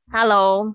Hello，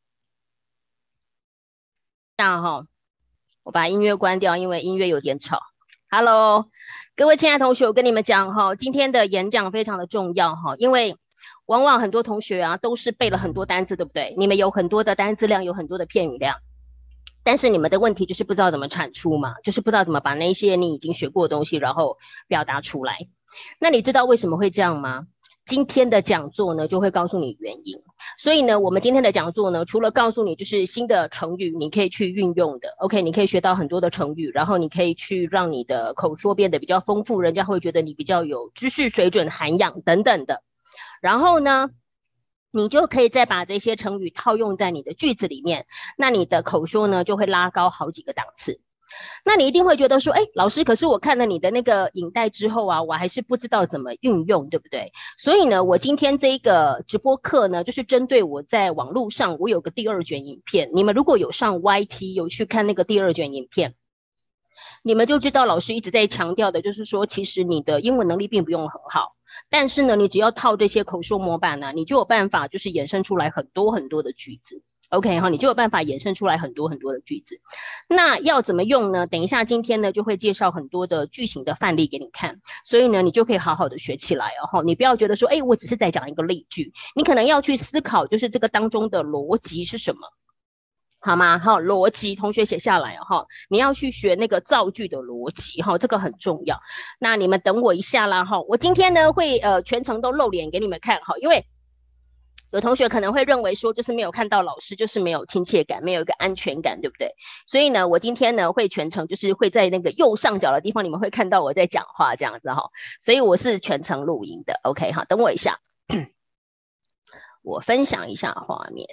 这样哈，我把音乐关掉，因为音乐有点吵。Hello，各位亲爱的同学，我跟你们讲哈，今天的演讲非常的重要哈，因为往往很多同学啊都是背了很多单字，对不对？你们有很多的单字量，有很多的片语量，但是你们的问题就是不知道怎么产出嘛，就是不知道怎么把那些你已经学过的东西，然后表达出来。那你知道为什么会这样吗？今天的讲座呢，就会告诉你原因。所以呢，我们今天的讲座呢，除了告诉你就是新的成语，你可以去运用的，OK，你可以学到很多的成语，然后你可以去让你的口说变得比较丰富，人家会觉得你比较有知识水准、涵养等等的。然后呢，你就可以再把这些成语套用在你的句子里面，那你的口说呢就会拉高好几个档次。那你一定会觉得说，哎，老师，可是我看了你的那个影带之后啊，我还是不知道怎么运用，对不对？所以呢，我今天这一个直播课呢，就是针对我在网络上，我有个第二卷影片，你们如果有上 YT 有去看那个第二卷影片，你们就知道老师一直在强调的，就是说，其实你的英文能力并不用很好，但是呢，你只要套这些口说模板呢、你就有办法就是衍生出来很多很多的句子。OK 哈，你就有办法衍生出来很多很多的句子。那要怎么用呢？等一下今天呢就会介绍很多的句型的范例给你看，所以呢你就可以好好的学起来哦。你不要觉得说，哎，我只是在讲一个例句，你可能要去思考，就是这个当中的逻辑是什么。好吗？好，逻辑同学写下来哦，哈，你要去学那个造句的逻辑，哈，这个很重要。那你们等我一下啦，哈，我今天呢会全程都露脸给你们看，哈，因为有同学可能会认为说，就是没有看到老师，就是没有亲切感，没有一个安全感，对不对？所以呢，我今天呢会全程就是会在那个右上角的地方，你们会看到我在讲话这样子哈，所以我是全程录音的，OK 哈，等我一下，我分享一下画面。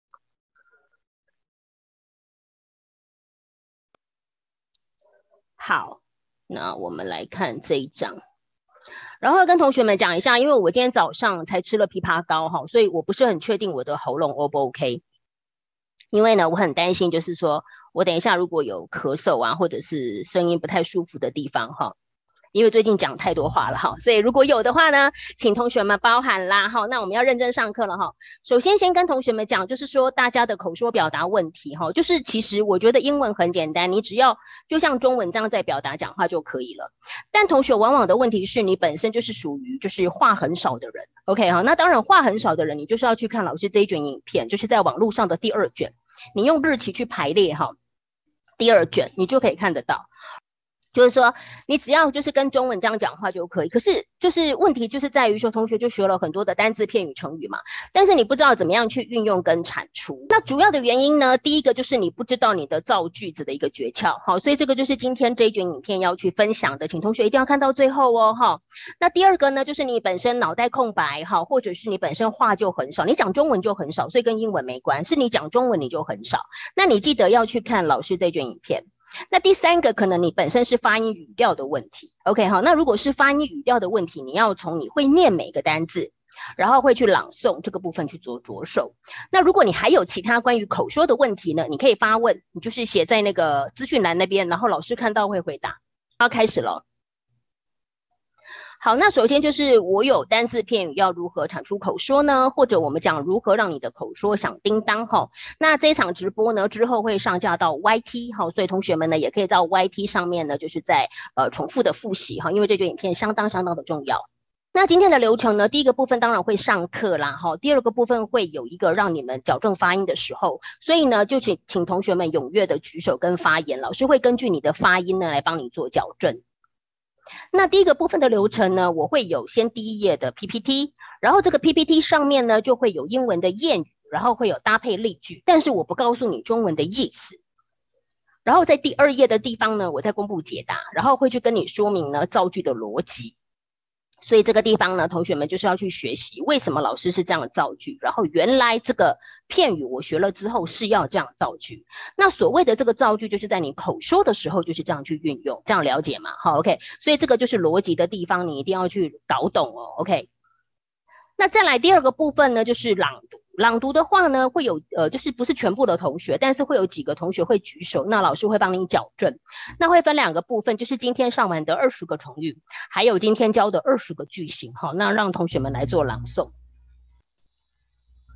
好，那我们来看这一张。然后跟同学们讲一下，因为我今天早上才吃了枇杷膏哈，所以我不是很确定我的喉咙 O 不 OK。因为呢，我很担心，就是说我等一下如果有咳嗽啊，或者是声音不太舒服的地方哈，因为最近讲太多话了哈，所以如果有的话呢，请同学们包涵啦哈。那我们要认真上课了哈。首先先跟同学们讲，就是说大家的口说表达问题哈，就是其实我觉得英文很简单，你只要就像中文这样在表达讲话就可以了。但同学往往的问题是你本身就是属于就是话很少的人，OK 哈。那当然话很少的人，你就是要去看老师这一卷影片，就是在网络上的第二卷，你用日期去排列哈，第二卷你就可以看得到。就是说，你只要就是跟中文这样讲话就可以。可是就是问题就是在于说，同学就学了很多的单字、片语、成语嘛，但是你不知道怎么样去运用跟产出。那主要的原因呢，第一个就是你不知道你的造句子的一个诀窍，好，所以这个就是今天这一卷影片要去分享的，请同学一定要看到最后哦，哈。那第二个呢，就是你本身脑袋空白，哈，或者是你本身话就很少，你讲中文就很少，所以跟英文没关，是你讲中文你就很少。那你记得要去看老师这卷影片。那第三个可能你本身是发音语调的问题，OK 好，那如果是发音语调的问题，你要从你会念每个单字，然后会去朗诵这个部分去做着手。那如果你还有其他关于口说的问题呢，你可以发问，你就是写在那个资讯栏那边，然后老师看到会回答。要开始了。好，那首先就是我有单字片语要如何产出口说呢？或者我们讲如何让你的口说响叮当哈。那这一场直播呢之后会上架到 YT 哈，所以同学们呢也可以到 YT 上面呢就是在重复的复习哈，因为这卷影片相当相当的重要。那今天的流程呢，第一个部分当然会上课啦，哈，第二个部分会有一个让你们矫正发音的时候，所以呢，就请同学们踊跃的举手跟发言，老师会根据你的发音呢来帮你做矫正。那第一个部分的流程呢，我会有先第一页的 PPT，然后这个 PPT 上面呢就会有英文的谚语，然后会有搭配例句，但是我不告诉你中文的意思。然后在第二页的地方呢，我再公布解答，然后会去跟你说明呢造句的逻辑。所以这个地方呢，同学们就是要去学习为什么老师是这样的造句，然后原来这个片语我学了之后是要这样造句。那所谓的这个造句，就是在你口说的时候就是这样去运用，这样了解吗？好 ，OK。所以这个就是逻辑的地方，你一定要去搞懂哦，OK。那再来第二个部分呢，就是朗读。朗读的话呢，会有就是不是全部的同学，但是会有几个同学会举手，那老师会帮你矫正。那会分两个部分，就是今天上完的20个成语，还有今天教的20个句型，好，那让同学们来做朗诵。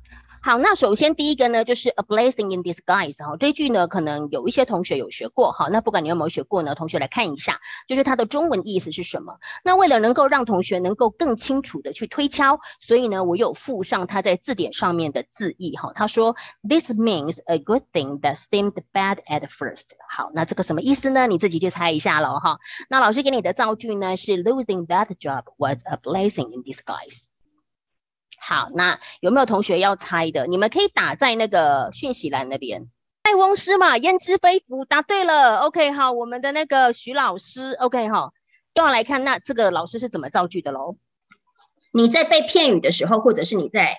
好，那首先第一个呢，就是 a blessing in disguise 哈，这句呢可能有一些同学有学过哈，那不管你有没有学过呢，同学来看一下，就是它的中文意思是什么。那为了能够让同学能够更清楚的去推敲，所以呢我有附上它在字典上面的字义哈。他说 this means a good thing that seemed bad at first。好，那这个什么意思呢？你自己去猜一下咯哈。那老师给你的造句呢是 losing that job was a blessing in disguise。好，那有没有同学要猜的？你们可以打在那个讯息栏那边。塞翁失马，焉知非福，答对了。OK， 好，我们的那个徐老师 ，OK 哈，又要来看那这个老师是怎么造句的喽？你在背片语的时候，或者是你在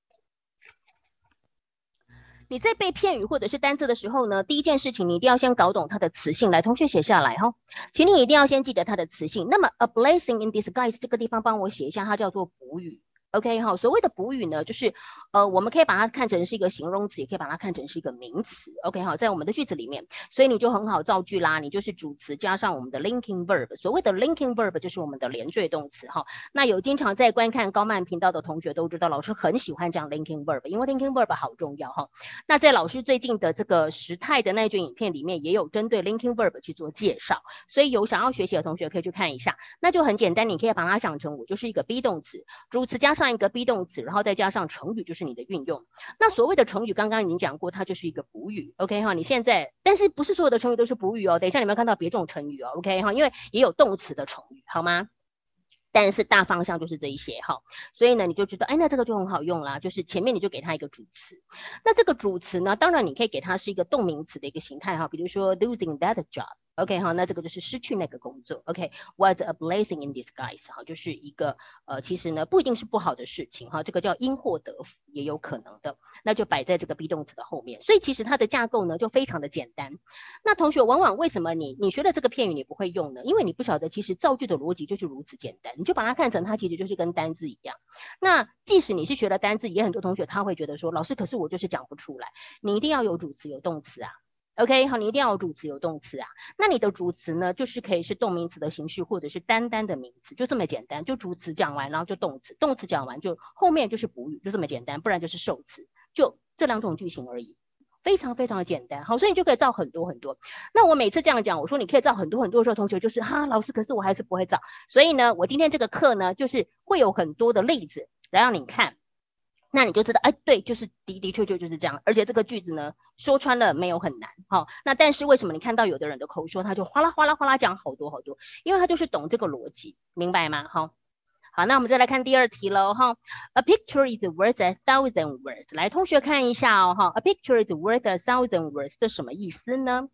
背片语或者是单字的时候呢，第一件事情你一定要先搞懂它的词性。来，同学写下来哈，请你一定要先记得它的词性。那么 a blessing in disguise 这个地方帮我写一下，它叫做补语。OK 哈，所谓的补语呢，就是我们可以把它看成是一个形容词，也可以把它看成是一个名词。OK 哈，在我们的句子里面，所以你就很好造句啦。你就是主词加上我们的 linking verb， 所谓的 linking verb 就是我们的连缀动词哈。那有经常在观看高曼频道的同学都知道，老师很喜欢讲 linking verb， 因为 linking verb 好重要哈。那在老师最近的这个时态的那卷影片里面，也有针对 linking verb 去做介绍，所以有想要学习的同学可以去看一下。那就很简单，你可以把它想成我就是一个 be 动词，主词加上一个 be 动词，然后再加上成语，就是你的运用。那所谓的成语刚刚已经讲过，它就是一个补语 OK 哈。你现在但是不是所有的成语都是补语哦，等一下你们看到别种成语哦 OK 哈，因为也有动词的成语好吗？但是大方向就是这一些哈，所以呢你就知道，哎，那这个就很好用啦，就是前面你就给它一个主词。那这个主词呢，当然你可以给它是一个动名词的一个形态哈，比如说 losing that job。OK 哈，那这个就是失去那个工作。OK，was a blessing in disguise 哈，就是一个其实呢不一定是不好的事情哈，这个叫因祸得福也有可能的，那就摆在这个 be 动词的后面。所以其实它的架构呢就非常的简单。那同学往往为什么你学的这个片语你不会用呢？因为你不晓得其实造句的逻辑就是如此简单，你就把它看成它其实就是跟单字一样。那即使你是学了单字，也很多同学他会觉得说，老师可是我就是讲不出来。你一定要有主词有动词啊。OK 好，你一定要有主词有动词啊。那你的主词呢，就是可以是动名词的形式，或者是单单的名词，就这么简单。就主词讲完，然后就动词，动词讲完就后面就是补语，就这么简单，不然就是受词，就这两种句型而已。非常非常的简单，好，所以你就可以造很多很多。那我每次这样讲，我说你可以造很多很多的时候，同学就是哈，老师，可是我还是不会造。所以呢，我今天这个课呢，就是会有很多的例子来让你看。那你就知道，哎，对，就是的确就是这样，而且这个句子呢，说穿了没有很难，哈。那但是为什么你看到有的人的口说，他就哗啦哗啦哗啦讲好多好多，因为他就是懂这个逻辑，明白吗？哈。好，那我们再来看第二题喽，哈。A picture is worth a thousand words。来，同学看一下哦，哈。A picture is worth a thousand words，这什么意思呢？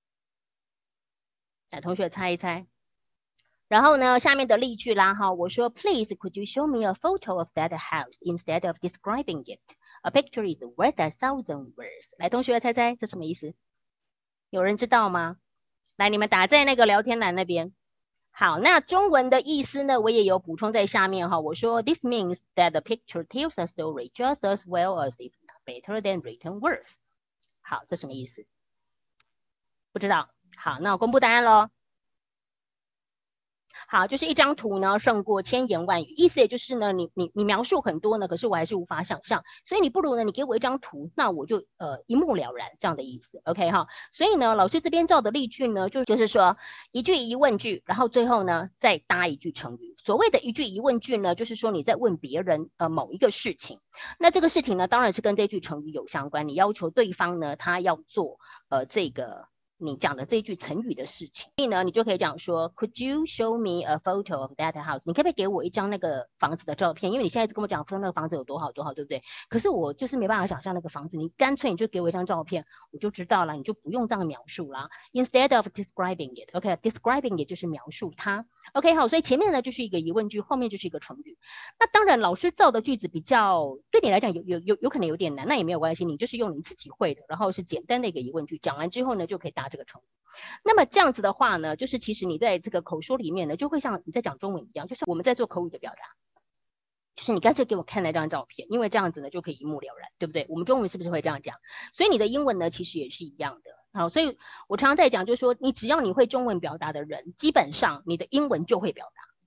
来，同学猜一猜。然后呢，下面的例句啦哈，我说 Please could you show me a photo of that house instead of describing it? A picture is worth a thousand words。来，同学猜猜这什么意思？有人知道吗？来，你们打在那个聊天栏那边。好，那中文的意思呢，我也有补充在下面哈。我说 This means that the picture tells a story just as well as if better than written words。好，这什么意思？不知道。好，那我公布答案喽。好，就是一张图呢胜过千言万语，意思也就是呢，你描述很多呢，可是我还是无法想象，所以你不如呢，你给我一张图，那我就一目了然这样的意思 ，OK 哈。所以呢，老师这边造的例句呢，就是说一句疑问句，然后最后呢再搭一句成语。所谓的一句疑问句呢，就是说你在问别人某一个事情，那这个事情呢当然是跟这句成语有相关，你要求对方呢他要做这个你讲的这句成语的事情，所以呢，你就可以讲说 ，Could you show me a photo of that house？ 你可不可以给我一张那个房子的照片？因为你现在一直跟我讲说那个房子有多好多好，对不对？可是我就是没办法想象那个房子，你干脆你就给我一张照片，我就知道了，你就不用这样描述啦。Instead of describing it，OK，describing it 就是描述它。OK， 好，所以前面呢就是一个疑问句，后面就是一个成语。那当然，老师造的句子比较对你来讲有可能有点难，那也没有关系，你就是用你自己会的，然后是简单的一个疑问句，讲完之后呢就可以答这个成语。那么这样子的话呢，就是其实你在这个口说里面呢，就会像你在讲中文一样，就是我们在做口语的表达，就是你干脆给我看那张照片，因为这样子呢就可以一目了然，对不对？我们中文是不是会这样讲？所以你的英文呢其实也是一样的。好，所以我常常在讲，就是说你只要你会中文表达的人，基本上你的英文就会表达。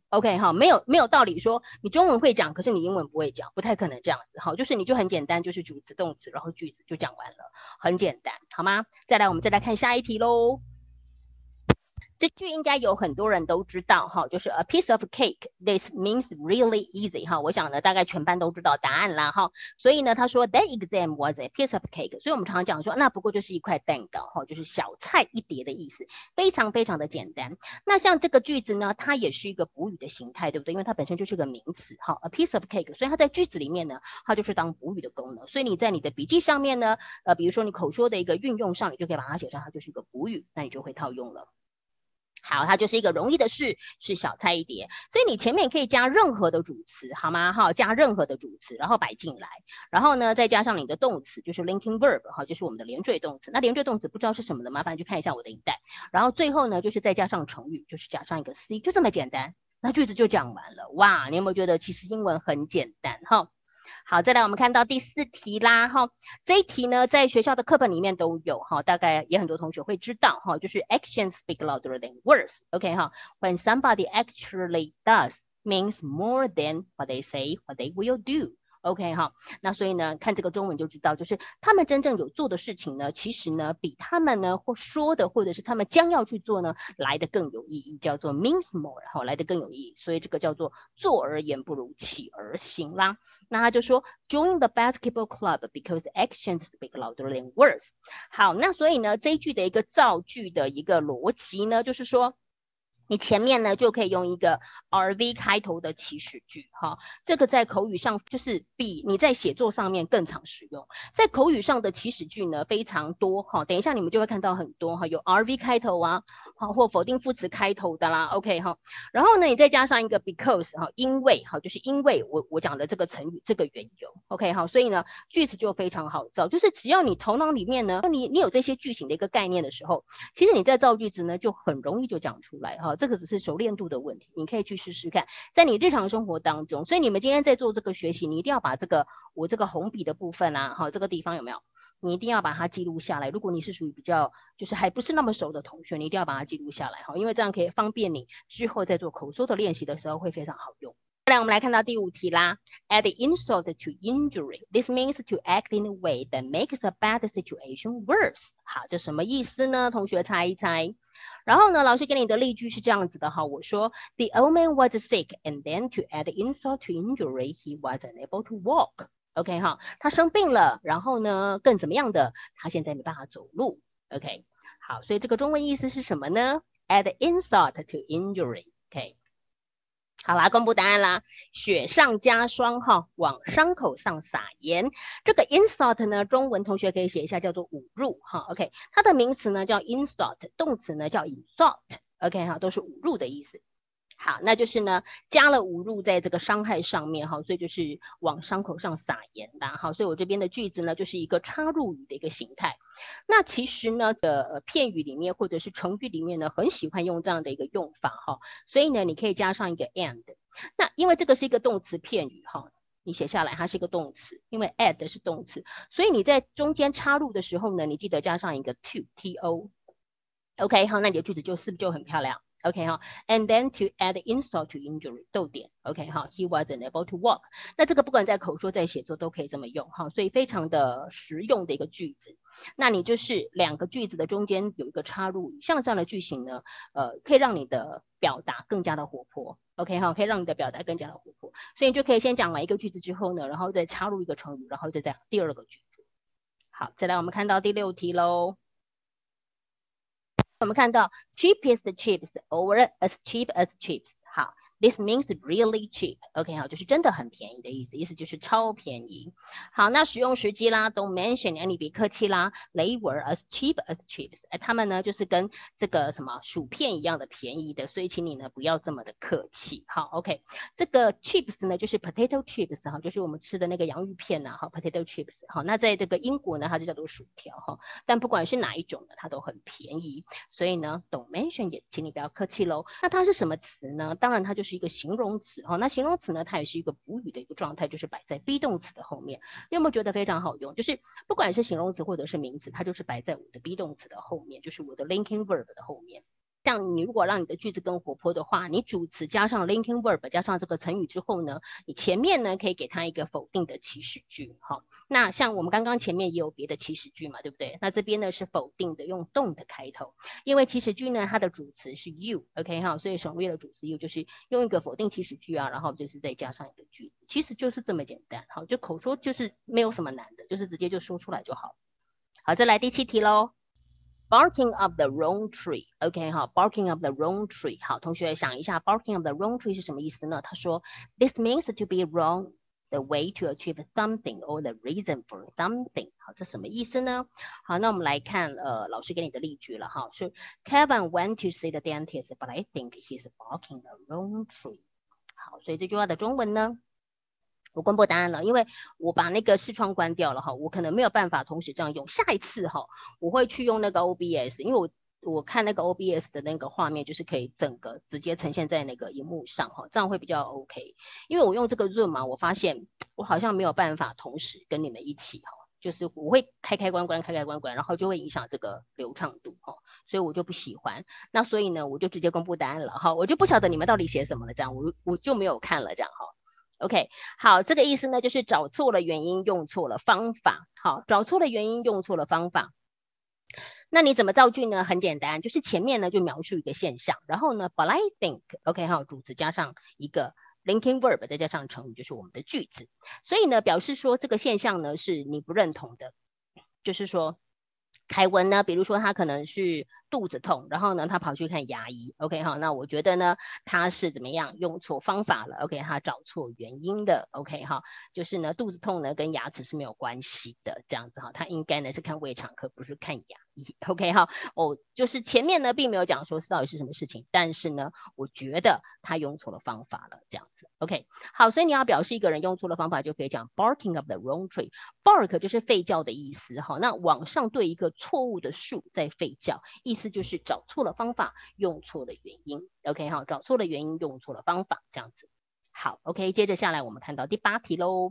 OK 哈，没有道理说你中文会讲，可是你英文不会讲，不太可能这样子哈。就是你就很简单，就是主词动词，然后句子就讲完了，很简单，好吗？再来，我们再来看下一题喽。这句应该有很多人都知道哈，就是 a piece of cake. This means really easy 哈。我想呢，大概全班都知道答案啦哈。所以呢，他说 that exam was a piece of cake。所以我们常常讲说，那不过就是一块蛋糕哈，就是小菜一碟的意思，非常非常的简单。那像这个句子呢，它也是一个补语的形态，对不对？因为它本身就是个名词哈 ，a piece of cake，所以它在句子里面呢，它就是当补语的功能。所以你在你的笔记上面呢，比如说你口说的一个运用上，你就可以把它写上，它就是一个补语，那你就会套用了。好，它就是一个容易的事，是小菜一碟，所以你前面可以加任何的主词，好吗？哈，加任何的主词，然后摆进来，然后呢，再加上你的动词，就是 linking verb， 哈，就是我们的连缀动词。那连缀动词不知道是什么的，麻烦去看一下我的影带。然后最后呢，就是再加上成语，就是加上一个 C， 就这么简单，那句子就讲完了。哇，你有没有觉得其实英文很简单？哈。好，再来我们看到第4题啦哈，这一题呢在学校的课本里面都有哈，大概也很多同学会知道哈，就是 actions speak louder than words，OK 哈，when somebody actually does means more than what they say, what they will do。OK 哈，那所以呢，看这个中文就知道，就是他们真正有做的事情呢，其实呢，比他们呢或说的，或者是他们将要去做呢，来的更有意义，叫做 means more， 哈，来的更有意义，所以这个叫做坐而言不如起而行啦。那他就说 join the basketball club because actions speak louder than words。好，那所以呢，这一句的一个造句的一个逻辑呢，就是说。你前面呢就可以用一个 RV 开头的祈使句哈，这个在口语上就是比你在写作上面更常使用。在口语上的祈使句呢非常多哈，等一下你们就会看到很多哈，有 RV 开头啊，或否定副词开头的啦 ，OK 哈。然后呢你再加上一个 because 哈，因为哈，就是因为我讲的这个成语这个缘由 ，OK 哈，所以呢句子就非常好造，就是只要你头脑里面呢你有这些句型的一个概念的时候，其实你在造句子呢就很容易就讲出来哈。这个只是熟练度的问题，你可以去试试看，在你日常生活当中。所以你们今天在做这个学习，你一定要把我这个红笔的部分啊，哈，这个地方有没有？你一定要把它记录下来。如果你是属于比较就是还不是那么熟的同学，你一定要把它记录下来哈，因为这样可以方便你之后在做口说的练习的时候会非常好用。再来，我们来看到第5题啦。Add insult to injury. This means to act in a way that makes a bad situation worse. 好，这什么意思呢？同学猜一猜。然后呢，老师给你的例句是这样子的哈，我说 The old man was sick, and then to add insult to injury, he was unable to walk. OK 哈，他生病了，然后呢，更怎么样的？他现在没办法走路。OK， 好，所以这个中文意思是什么呢 ？Add insult to injury。OK。好啦，公布答案啦！雪上加霜哈，往伤口上撒盐。这个 insult 呢，中文同学可以写一下，叫做侮辱哈。OK， 它的名词呢叫 insult， 动词呢叫 insult。OK 哈，都是侮辱的意思。好，那就是呢，加了侮辱在这个伤害上面哈，所以就是往伤口上撒盐啦哈，所以我这边的句子呢，就是一个插入语的一个形态。那其实呢片语里面或者是成语里面呢，很喜欢用这样的一个用法哈，所以呢，你可以加上一个 and。那因为这个是一个动词片语哈，你写下来它是一个动词，因为 add 是动词，所以你在中间插入的时候呢，你记得加上一个 to。OK， 好，那你的句子是不是就很漂亮？OK 哈 ，and then to add insult to injury， 逗点 ，OK 哈 ，he wasn't able to walk。那这个不管在口说在写作都可以这么用哈，所以非常的实用的一个句子。那你就是2个句子的中间有一个插入语，像这样的句型呢，可以让你的表达更加的活泼 ，OK 哈，可以让你的表达更加的活泼。所以你就可以先讲完一个句子之后呢，然后再插入一个成语，然后再讲第2个句子。好，再来我们看到第6题喽。我们看到 cheapest chips or as cheap as chips。好， This means really cheap. OK 好，就是真的很便宜的意思，意思就是超便宜。好，那使用时机啦 ，Don't mention， 你别客气啦。They were as cheap as chips。他们呢就是跟这个什么薯片一样的便宜的，所以请你呢不要这么的客气。好 ，OK， 这个 chips 呢就是 potato chips 哈，就是我们吃的那个洋芋片呐，好 potato chips。好，那在这个英国呢，它就叫做薯条哈，但不管是哪一种呢，它都很便宜，所以呢 Don't mention 也请你不要客气喽。那它是什么词呢？当然它就是一个形容词哈，那形容词呢，它也是一个补语的一个状态，就是摆在 be 动词的后面。你有没有觉得非常好用？就是不管是形容词或者是名词，它就是摆在我的 be 动词的后面，就是我的 linking verb 的后面。 像你如果让你的句子更活泼的话，你主词加上 linking verb 加上这个成语之后呢，你前面呢可以给它一个否定的祈使句。好，那像我们刚刚前面也有别的祈使句嘛，对不对？那这边呢是否定的，用 don't 开头，因为祈使句呢它的主词是 you，OK 哈，所以省略了主词 you， 就是用一个否定祈使句啊，然后就是再加上一个句子，其实就是这么简单。好，就口说就是没有什么难的，就是直接就说出来就好。好，再来第7题咯。Barking up the wrong tree，OK 哈 ，barking up the wrong tree。好，同学想一下 ，barking up the wrong tree 是什么意思呢？他说 ，this means to be wrong the way to achieve something or the reason for something。好，这什么意思呢？好，那我们来看老师给你的例句了哈，是 Kevin went to see the dentist, but I think he's barking the wrong tree。好，所以这句话的中文呢？我公布答案了，因为我把那个视窗关掉了哈，我可能没有办法同时这样用。下一次哈，我会去用那个 OBS， 因为我看那个 OBS 的那个画面，就是可以整个直接呈现在那个荧幕上哈，这样会比较 OK。因为我用这个 Zoom 嘛，我发现我好像没有办法同时跟你们一起哈，就是我会开开关关，然后就会影响这个流畅度哈，所以我就不喜欢。那所以呢，我就直接公布答案了哈，我就不晓得你们到底写什么了，这样我就没有看了这样哈。OK， 好，这个意思呢，就是找错了原因，用错了方法。好，找错了原因，用错了方法。那你怎么造句呢？很简单，就是前面呢就描述一个现象，然后呢 ，but I think，OK， 好，主词加上一个 linking verb， 再加上成语，就是我们的句子。所以呢，表示说这个现象呢是你不认同的，就是说。凯文呢，比如说他可能是肚子痛，然后呢他跑去看牙医 ，OK 哈，那我觉得呢他是怎么样用错方法了 ，OK 他找错原因的 ，OK 哈，就是呢肚子痛呢跟牙齿是没有关系的，这样子哈，他应该呢是看胃肠科，不是看牙医 ，OK 哈，就是前面呢并没有讲说是到底是什么事情，但是呢我觉得他用错了方法了，这样子 ，OK 好，所以你要表示一个人用错了方法，就可以讲 barking up the wrong tree，bark 就是吠叫的意思哈，那往上对一个错误的树在吠叫，意思就是找错了方法，用错了原因。OK 好，找错了原因，用错了方法，这样子。好 ，OK， 接着下来我们看到第8题喽。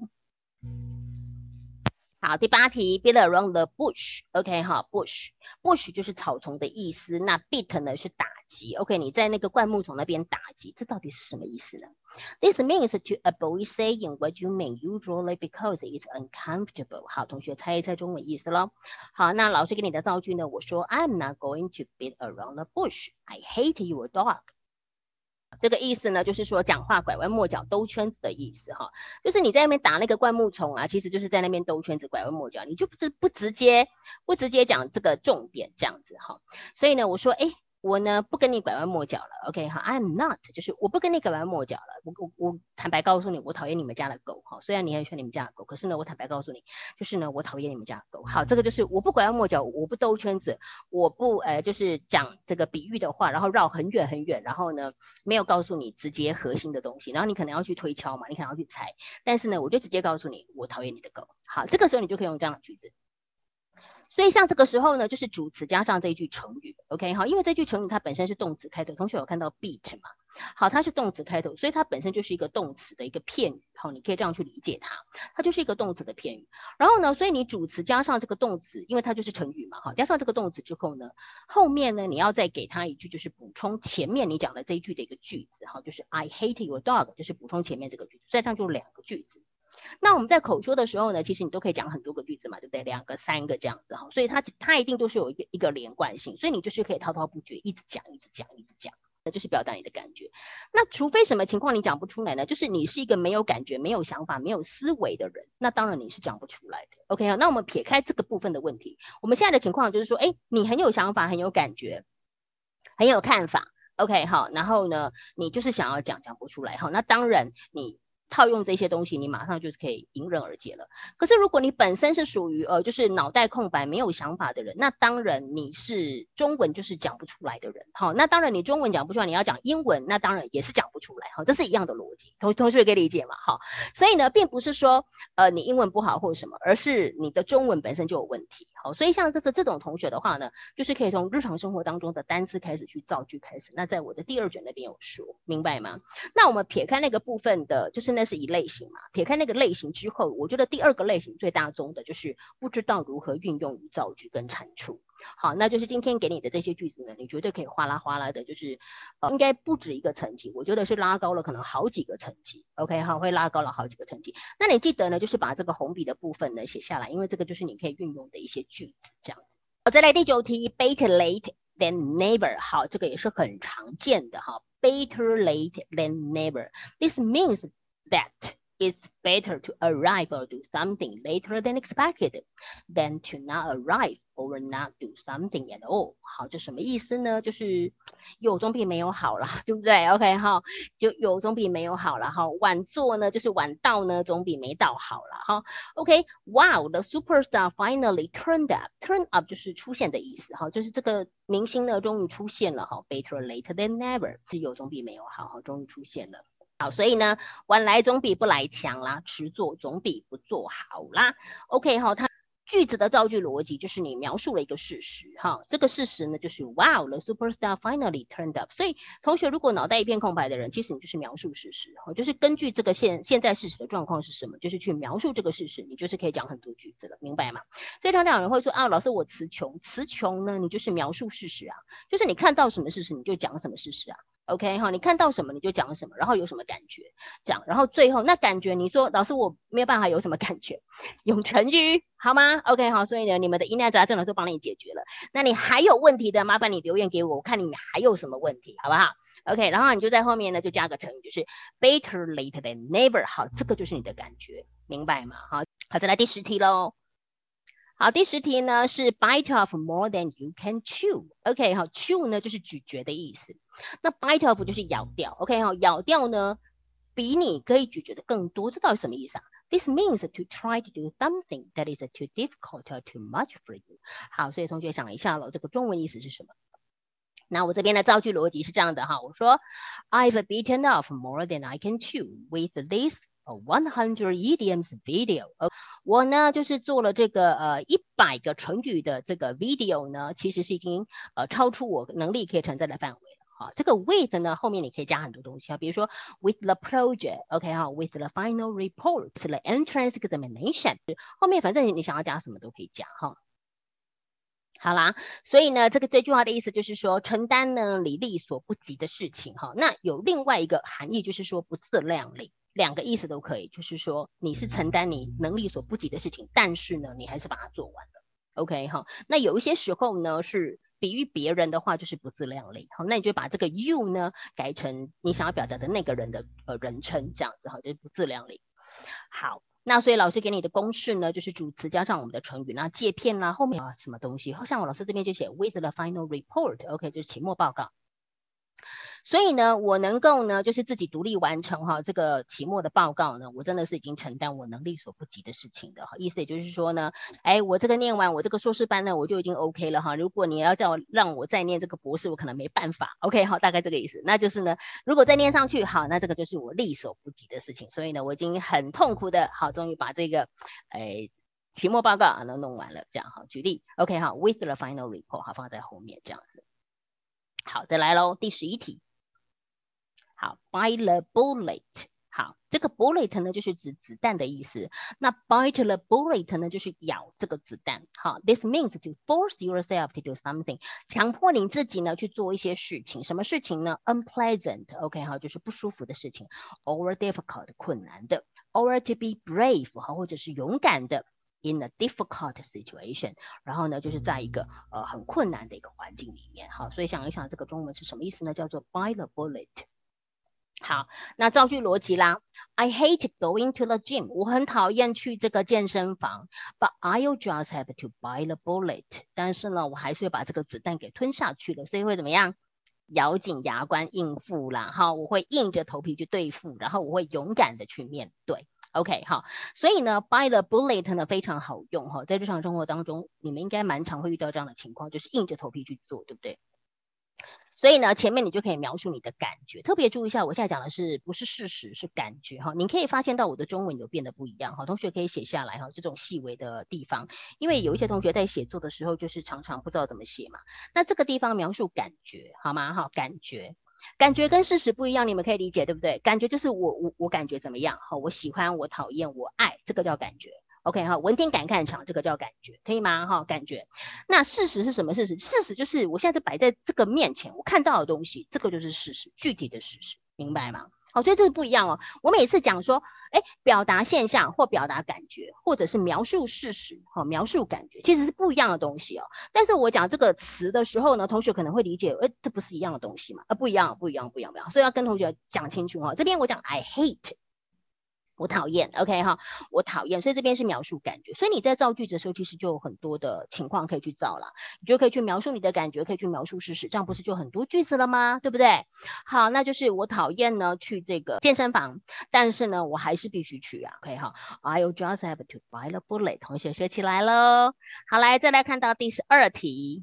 好，第8题 ，beat around the bush。OK 哈 ，bush 就是草丛的意思。那 beat 呢是打击。OK， 你在那个灌木丛那边打击，这到底是什么意思呢 ？This means to avoid saying what you mean usually because it's uncomfortable。好，同学猜一猜中文意思咯。好，那老师给你的造句呢？我说 I'm not going to beat around the bush. I hate your dog。这个意思呢，就是说讲话拐弯抹角、兜圈子的意思哈，就是你在那边打那个灌木丛啊，其实就是在那边兜圈子、拐弯抹角，你就不直接讲这个重点这样子哈。所以呢，我说，哎，我呢不跟你拐弯抹角了 ，OK 哈 ，I'm not， 就是我不跟你拐弯抹角了。我坦白告诉你，我讨厌你们家的狗哈。虽然你很喜欢你们家的狗，可是呢，我坦白告诉你，就是呢，我讨厌你们家的狗。好，这个就是我不拐弯抹角，我不兜圈子，我不就是讲这个比喻的话，然后绕很远很远，然后呢没有告诉你直接核心的东西，然后你可能要去推敲嘛，你可能要去猜，但是呢，我就直接告诉你，我讨厌你的狗。好，这个时候你就可以用这样的句子。所以像这个时候呢，就是主词加上这一句成语 ，OK 好，因为这句成语它本身是动词开头，同学有看到 beat 嘛？好，它是动词开头，所以它本身就是一个动词的一个片语，好，你可以这样去理解它，它就是一个动词的片语。然后呢，所以你主词加上这个动词，因为它就是成语嘛，好，加上这个动词之后呢，后面呢你要再给它一句，就是补充前面你讲的这一句的一个句子，好，就是 I hate your dog， 就是补充前面这个句子，所以这样就2个句子。那我们在口说的时候呢，其实你都可以讲很多个句子嘛，对不对？2个、3个这样子哈，所以它一定都是有一个连贯性，所以你就是可以滔滔不绝，一直讲，那就是表达你的感觉。那除非什么情况你讲不出来呢？就是你是一个没有感觉、没有想法、没有思维的人，那当然你是讲不出来的。OK 那我们撇开这个部分的问题，我们现在的情况就是说，哎，你很有想法、很有感觉、很有看法。OK 好，然后呢，你就是想要讲不出来。好，那当然你套用这些东西，你马上就是可以迎刃而解了。可是如果你本身是属于就是脑袋空白没有想法的人，那当然你是中文就是讲不出来的人。好，那当然你中文讲不出来，你要讲英文，那当然也是讲不出来。好，这是一样的逻辑，同学可以理解嘛？好，所以呢，并不是说你英文不好或者什么，而是你的中文本身就有问题。好，所以像这种同学的话呢，就是可以从日常生活当中的单字开始去造句开始。那在我的第2卷那边有说，明白吗？那我们撇开那个部分的，就是那是一类型嘛，撇开那个类型之后，我觉得第二个类型最大宗的就是不知道如何运用于造句跟阐述。好，那就是今天给你的这些句子呢，你绝对可以哗啦哗啦的，就是应该不止一个层级，我觉得是拉高了可能好几个层级。OK， 好，会拉高了好几个层级。那你记得呢，就是把这个红笔的部分呢写下来，因为这个就是你可以运用的一些句子，这样。好，再来第9题 ，better late than never。好，这个也是很常见的哈 ，better late than never。This means that it's better to arrive or do something later than expected than to not arrive or not do something at all。好，这什么意思呢？就是有总比没有好啦，对不对 ？OK， 好，就有总比没有好啦。哈，晚做呢，就是晚到呢，总比没到好啦。哈 ，OK，Wow，the superstar finally turned up。Turn up 就是出现的意思。哈，就是这个明星呢，终于出现了。哈 ，better late than never， 是有总比没有好。哈，终于出现了。好，所以呢，晚来总比不来强啦，迟做总比不做好啦。OK， 好，它句子的造句逻辑就是你描述了一个事实，哈，这个事实呢就是 Wow, the superstar finally turned up。所以同学如果脑袋一片空白的人，其实你就是描述事实，就是根据这个现在事实的状况是什么，就是去描述这个事实，你就是可以讲很多句子了，明白吗？所以常常有人会说啊，老师我词穷，词穷呢，你就是描述事实啊，就是你看到什么事实你就讲什么事实啊。OK 哈，你看到什么你就讲什么，然后有什么感觉讲，然后最后那感觉你说老师我没有办法有什么感觉，用成语好吗 ？OK 好，所以呢你们的疑难杂症老师帮你解决了。那你还有问题的，麻烦你留言给我，我看你还有什么问题，好不好 ？OK， 然后你就在后面呢就加个成语，就是 better late than never。好，这个就是你的感觉，明白吗？好，好，再来第10题喽。好，第10题呢是 bite off more than you can chew。OK， 好 ，chew 呢就是咀嚼的意思，那 bite off 就是咬掉。OK， 好，咬掉呢比你可以咀嚼的更多，这到底什么意思啊 ？This means to try to do something that is too difficult or too much for you。好，所以同学想一下了，这个中文意思是什么？那我这边的造句逻辑是这样的哈，我说 I've bitten off more than I can chew with this 100 idioms video。我呢就是做了这个100个成语的这个 video 呢，其实是已经超出我能力可以承载的范围了。好，这个 with 呢后面你可以加很多东西啊，比如说 with the project，OK 哈 ，with the final report，the entrance examination， 后面反正你想要加什么都可以加哈。好啦，所以呢，这句话的意思就是说，承担呢你力所不及的事情哈。那有另外一个含义，就是说不自量力，两个意思都可以，就是说你是承担你能力所不及的事情，但是呢，你还是把它做完了。OK 哈，那有一些时候呢是比喻别人的话，就是不自量力。好，那你就把这个 you 呢改成你想要表达的那个人的人称，这样子哈，就是不自量力。好。那所以老师给你的公式呢，就是主词加上我们的成语，那借片啦，后面什么东西，像我老师这边就写 with the final report，OK， 就是期末报告。所以呢，我能够呢，就是自己独立完成哈这个期末的报告呢，我真的是已经承担我能力所不及的事情的哈。意思也就是说呢，哎，我这个念完我这个硕士班呢，我就已经 OK 了哈。如果你要让我再念这个博士，我可能没办法。OK， 好，大概这个意思。那就是呢，如果再念上去，好，那这个就是我力所不及的事情。所以呢，我已经很痛苦的，好，终于把这个，期末报告啊弄完了，这样哈。举例 ，OK 哈 ，with the final report 好放在后面这样子。好，再来喽，第11题。好 ，bite the bullet。好，这个 bullet 呢就是指子弹的意思。那 bite the bullet 呢就是咬这个子弹。好 ，this means to force yourself to do something， 强迫你自己呢去做一些事情。什么事情呢 ？unpleasant，OK， 好，就是不舒服的事情 ，or difficult， 困难的 ，or to be brave， 好，或者是勇敢的。In a difficult situation， 然后呢，就是在一个很困难的一个环境里面，好，所以想一想这个中文是什么意思呢？叫做 bite the bullet。好，那造句逻辑啦 ，I hate going to the gym， 我很讨厌去这个健身房 ，but I'll just have to bite the bullet， 但是呢，我还是会把这个子弹给吞下去了，所以会怎么样？咬紧牙关应付啦，哈，我会硬着头皮去对付，然后我会勇敢的去面对。OK， 好，所以呢 ，bite the bullet 呢非常好用哈，在日常生活当中，你们应该蛮常会遇到这样的情况，就是硬着头皮去做，对不对？所以呢，前面你就可以描述你的感觉，特别注意一下，我现在讲的是不是事实，是感觉哈。你可以发现到我的中文有变得不一样哈，同学可以写下来哈，这种细微的地方，因为有一些同学在写作的时候就是常常不知道怎么写嘛。那这个地方描述感觉好吗？哈，感觉感觉跟事实不一样，你们可以理解对不对？感觉就是我感觉怎么样，好，我喜欢，我讨厌，我爱，这个叫感觉。OK 哈，闻听感看场，这个叫感觉，可以吗？哈，感觉。那事实是什么事实？事实就是我现在是摆在这个面前，我看到的东西，这个就是事实，具体的事实，明白吗？好，所以这个不一样哦。我每次讲说，表达现象或表达感觉，或者是描述事实，描述感觉，其实是不一样的东西哦。但是我讲这个词的时候呢，同学可能会理解，这不是一样的东西嘛？不一样，不一样，不一样，不一样。所以要跟同学讲清楚哈。这边我讲 I hate。我讨厌 ，OK 哈，我讨厌，所以这边是描述感觉，所以你在造句子的时候，其实就有很多的情况可以去造了，你就可以去描述你的感觉，可以去描述事实，这样不是就很多句子了吗？对不对？好，那就是我讨厌呢去这个健身房，但是呢我还是必须去啊，OK 哈，I'll just have to buy the bullet， 同学学起来喽。好，来再来看到第12题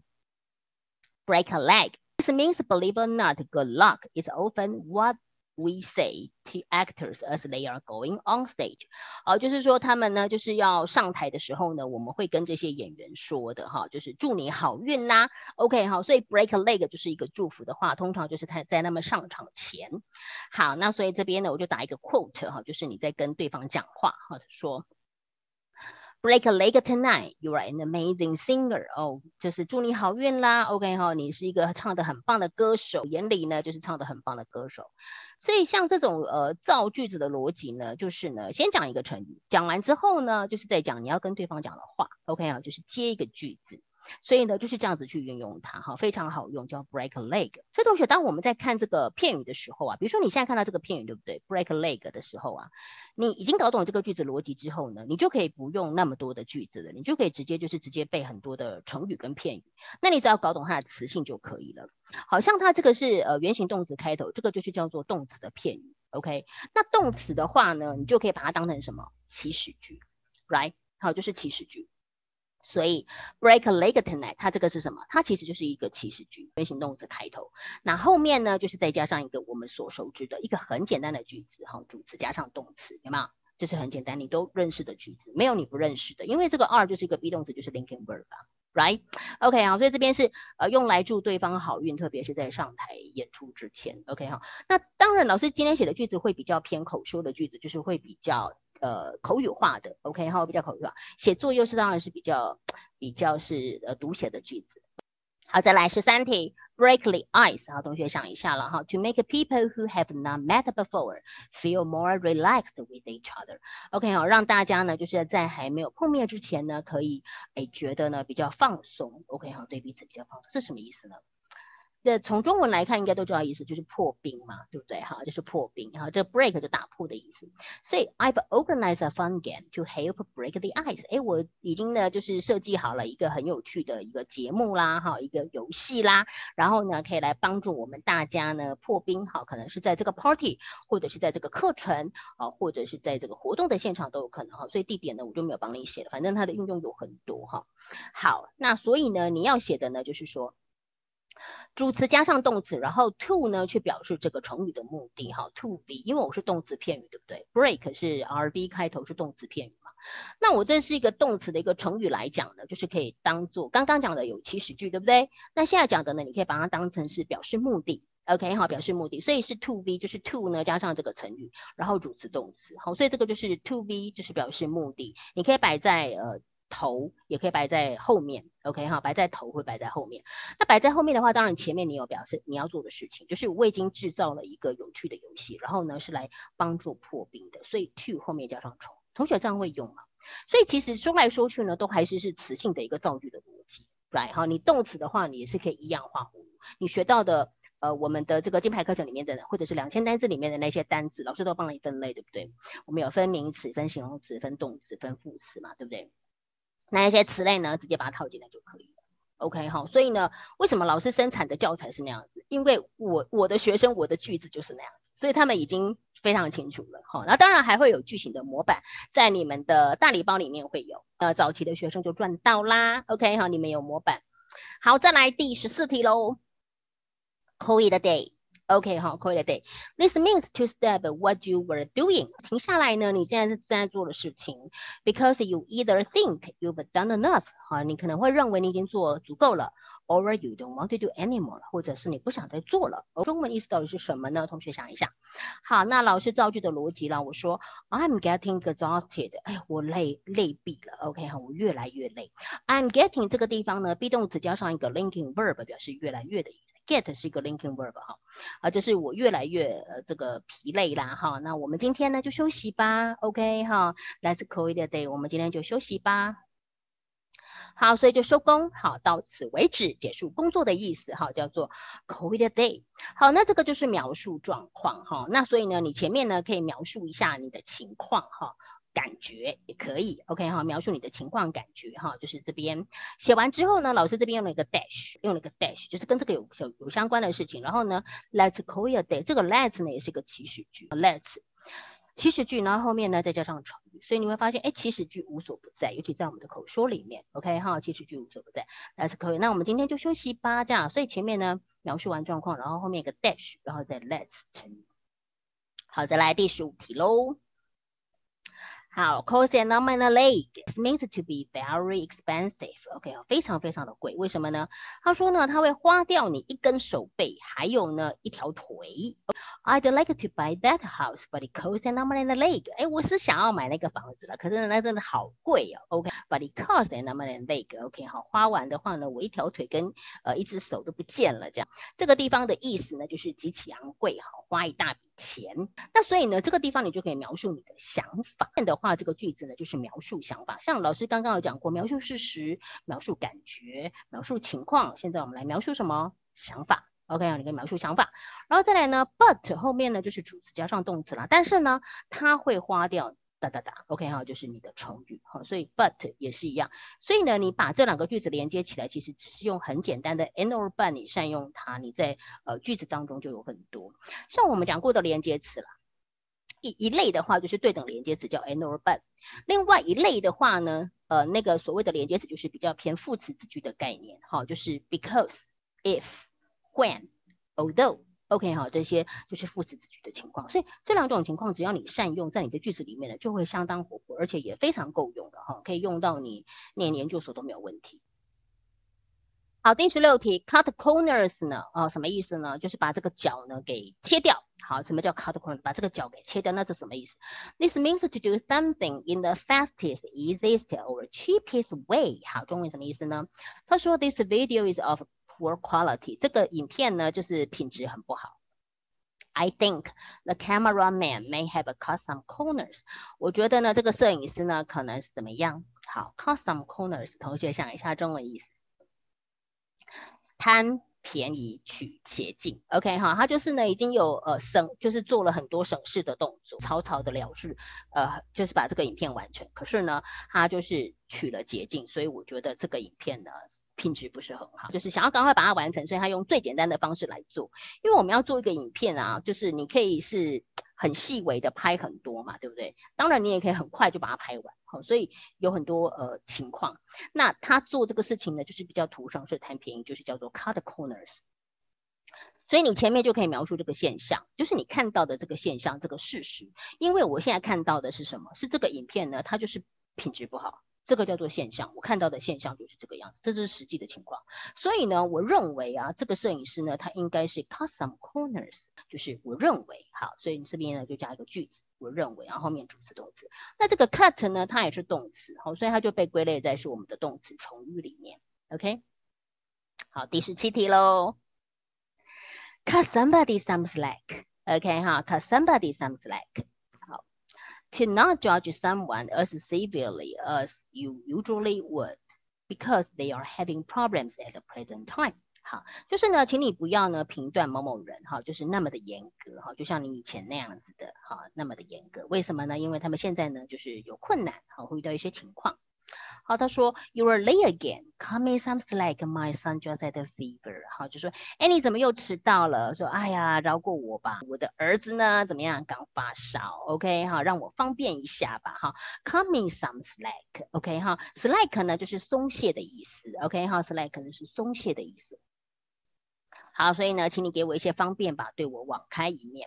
，break a leg。This means, believe it or not, good luck is often what we say to actors as they are going on stage，就是说他们呢，就是要上台的时候呢，我们会跟这些演员说的哈，就是祝你好运啦。OK 好，所以 break a leg 就是一个祝福的话，通常就是他在他们上场前。好，那所以这边呢，我就打一个 quote 哈，就是你在跟对方讲话哈，说。Break a leg tonight, you are an amazing singer. 就是祝你好运啦。OK 哈，你是一个唱得很棒的歌手，眼里呢就是唱得很棒的歌手。所以像这种造句子的逻辑呢，就是呢先讲一个成语，讲完之后呢，就是在讲你要跟对方讲的话。OK 啊，就是接一个句子。所以呢，就是这样子去运用它，哈，非常好用，叫 break a leg。所以同学，当我们在看这个片语的时候啊，比如说你现在看到这个片语，对不对 ？break a leg 的时候啊，你已经搞懂这个句子逻辑之后呢，你就可以不用那么多的句子了，你就可以直接背很多的成语跟片语。那你只要搞懂它的词性就可以了。好像它这个是原形动词开头，这个就是叫做动词的片语。OK， 那动词的话呢，你就可以把它当成什么？祈使句 ，right？ 好，就是祈使句。所以 break a leg tonight， 它这个是什么？它其实就是一个祈使句，原形动词开头。那后面呢，就是再加上一个我们所熟知的一个很简单的句子，哈，主词加上动词，有没有？这是很简单，你都认识的句子，没有你不认识的，因为这个 are 就是一个 be 动词，就是 linking verb 啊。Right? OK 好，所以这边是用来祝对方好运，特别是在上台演出之前。OK 好，那当然老师今天写的句子会比较偏口说的句子，就是会比较口语化的。OK 好，比较口语化。写作又是当然是比较是读写的句子。好，再来13题 ，break the ice。好，同学想一下了哈 ，to make people who have not met before feel more relaxed with each other。OK 好，让大家呢就是在还没有碰面之前呢，可以觉得呢比较放松。OK 好，对彼此比较放松，这是什么意思呢？从中文来看，应该都知道意思，就是破冰嘛，对不对？哈，就是破冰。哈，这 break 就打破的意思。所以 I've organized a fun game to help break the ice。我已经呢就是设计好了一个很有趣的一个节目啦，哈，一个游戏啦，然后呢可以来帮助我们大家呢破冰。好，可能是在这个 party， 或者是在这个课程，或者是在这个活动的现场都有可能哈。所以地点呢我就没有帮你写了，反正它的运用有很多哈。好，那所以呢你要写的呢就是说。主词加上动词，然后 to 呢去表示这个成语的目的哈 ，to be， 因为我是动词片语，对不对 ？break 是 rb 开头是动词片语嘛，那我这是一个动词的一个成语来讲呢，就是可以当做刚刚讲的有祈使句，对不对？那现在讲的呢，你可以把它当成是表示目的。OK 好，表示目的，所以是 to be 就是 to 呢加上这个成语，然后主词动词，好，所以这个就是 to be 就是表示目的，你可以摆在头也可以摆在后面 ，OK 哈，摆在头会摆在后面。那摆在后面的话，当然前面你有表示你要做的事情，就是我已经制造了一个有趣的游戏，然后呢是来帮助破冰的，所以 to 后面加上从，同学这样会用吗？所以其实说来说去呢，都还是词性的一个造句的逻辑 ，right 哈？你动词的话，你也是可以一样画葫芦，你学到的。我们的这个金牌课程里面的，或者是2000单字里面的那些单字，老师都帮你分类，对不对？我们有分名词、分形容词、分动词、分副词嘛，对不对？那一些词类呢，直接把它套进来就可以了。OK 好，所以呢，为什么老师生产的教材是那样子？因为我的学生我的句子就是那样子，所以他们已经非常清楚了。好，那当然还会有句型的模板，在你们的大礼包里面会有。早期的学生就赚到啦。OK 好，你们有模板。好，再来第14题喽。Call it a day。OK 好 ，call it a day. This means to stop what you were doing. 停下来呢，你现在正在做的事情。Because you either think you've done enough. 好，你可能会认为你已经做足够了 or you don't want to do anymore， 或者是你不想再做了。中文意思到底是什么呢？同学想一下。好，那老师造句的逻辑啦，我说 I'm getting exhausted， 哎，我累毙了 ，OK 哈，我越来越累。I'm getting 这个地方呢，be 动词加上一个 linking verb， 表示越来越的意思。get 是一个 linking verb 哈，就是我越来越这个疲累啦哈。那我们今天呢就休息吧 ，OK 哈 ，Let's call it a day， 我们今天就休息吧。好，所以就收工，好，到此为止，结束工作的意思，哈，叫做 call it a day。好，那这个就是描述状况，哈，那所以呢，你前面呢可以描述一下你的情况，哈。感觉也可以 ，OK 哈，描述你的情况感觉哈，就是这边写完之后呢，老师这边用了一个 dash，就是跟这个有相关的事情。然后呢 ，Let's call it a day， 这个 Let's 呢也是一个祈使句 ，Let's 祈使句，然后后面呢再加上成语，所以你会发现，哎，祈使句无所不在，尤其在我们的口说里面 ，OK 哈，祈使句无所不在。Let's call it， 那我们今天就休息吧，这样，所以前面呢描述完状况，然后后面一个 dash， 然后再 Let's 成语。好，再来第15题喽。好 ，cost an arm and a leg is meant to be very expensive。OK， 非常非常的贵，为什么呢？他说呢，他会花掉你一根手背，还有呢一条腿。I'd like to buy that house, but it costs an arm and a leg。哎，我是想要买那个房子了，可是呢，那真的好贵哦。OK，but it costs an arm and a leg。OK， 好，花完的话呢，我一条腿跟一只手都不见了，这样。这个地方的意思呢，就是极其昂贵，好，花一大笔钱。那所以呢，这个地方你就可以描述你的想法。的话，这个句子呢就是描述想法。像老师刚刚有讲过，描述事实、描述感觉、描述情况。现在我们来描述什么？想法。OK， 你可以描述想法。然后再来呢 ，but 后面呢就是主词加上动词啦。但是呢，它会花掉。OK 哈，就是你的成语哈，所以 but 也是一样，所以呢，你把这两个句子连接起来，其实只是用很简单的 and or but， 你善用它，你在句子当中就有很多。像我们讲过的连接词啦，一类的话就是对等连接词叫 and or but， 另外一类的话呢，那个所谓的连接词就是比较偏副词子句的概念，哈，就是 because、if、when、although。OK 哈，这些就是副词子句的情况，所以这两种情况只要你善用，在你的句子里面呢，就会相当活泼，而且也非常够用的哈，可以用到你念研究所都没有问题。好，第16题 ，cut corners 呢，什么意思呢？就是把这个角呢给切掉。好，什么叫 cut corners？ 把这个角给切掉，那这什么意思 ？This means to do something in the fastest, easiest or cheapest way。好，中文什么意思呢？他说 This video is of poor quality， 这个影片呢就是品质很不好。I think the cameraman may have cut some corners。我觉得呢，这个摄影师呢可能是怎么样？好 ，cut some corners， 同学想一下中文意思。贪便宜取捷径 ，OK 哈，他就是呢已经有就是做了很多省事的动作，草草的了事，就是把这个影片完成。可是呢，他就是取了捷径，所以我觉得这个影片呢品质不是很好，就是想要赶快把它完成，所以他用最简单的方式来做。因为我们要做一个影片啊，就是你可以是很细微的拍很多嘛，对不对？当然你也可以很快就把它拍完，所以有很多情况。那他做这个事情呢，就是比较图省事贪便宜，就是叫做 cut corners。所以你前面就可以描述这个现象，就是你看到的这个现象，这个事实。因为我现在看到的是什么？是这个影片呢，它就是品质不好。这个叫做现象，我看到的现象就是这个样子，这就是实际的情况。所以呢，我认为啊，这个摄影师呢，他应该是 cut some corners， 就是我认为好，所以你这边呢就加一个句子，我认为，然后后面主词动词。那这个 cut 呢，它也是动词，好，所以它就被归类在是我们的动词从语里面。OK， 好，第17题喽。Cut somebody some slack，OK 哈 ，cut somebody some slack。To not judge someone as severely as you usually would, because they are having problems at the present time。好，就是呢，请你不要呢评断某某人哈，就是那么的严格哈，就像你以前那样子的哈，那么的严格。为什么呢？因为他们现在呢就是有困难，好，会遇到一些情况。好，他说 You are late again. Cut me some slack. My son just had a fever. 好，就说，哎，你怎么又迟到了？说，哎呀，饶过我吧，我的儿子呢，怎么样，刚发烧 ，OK 哈，让我方便一下吧，哈 ，Cut me some slack，OK 哈 ，slack 呢就是松懈的意思 ，OK 哈 ，slack 就是松懈的意思。好，所以呢，请你给我一些方便吧，对我网开一面吧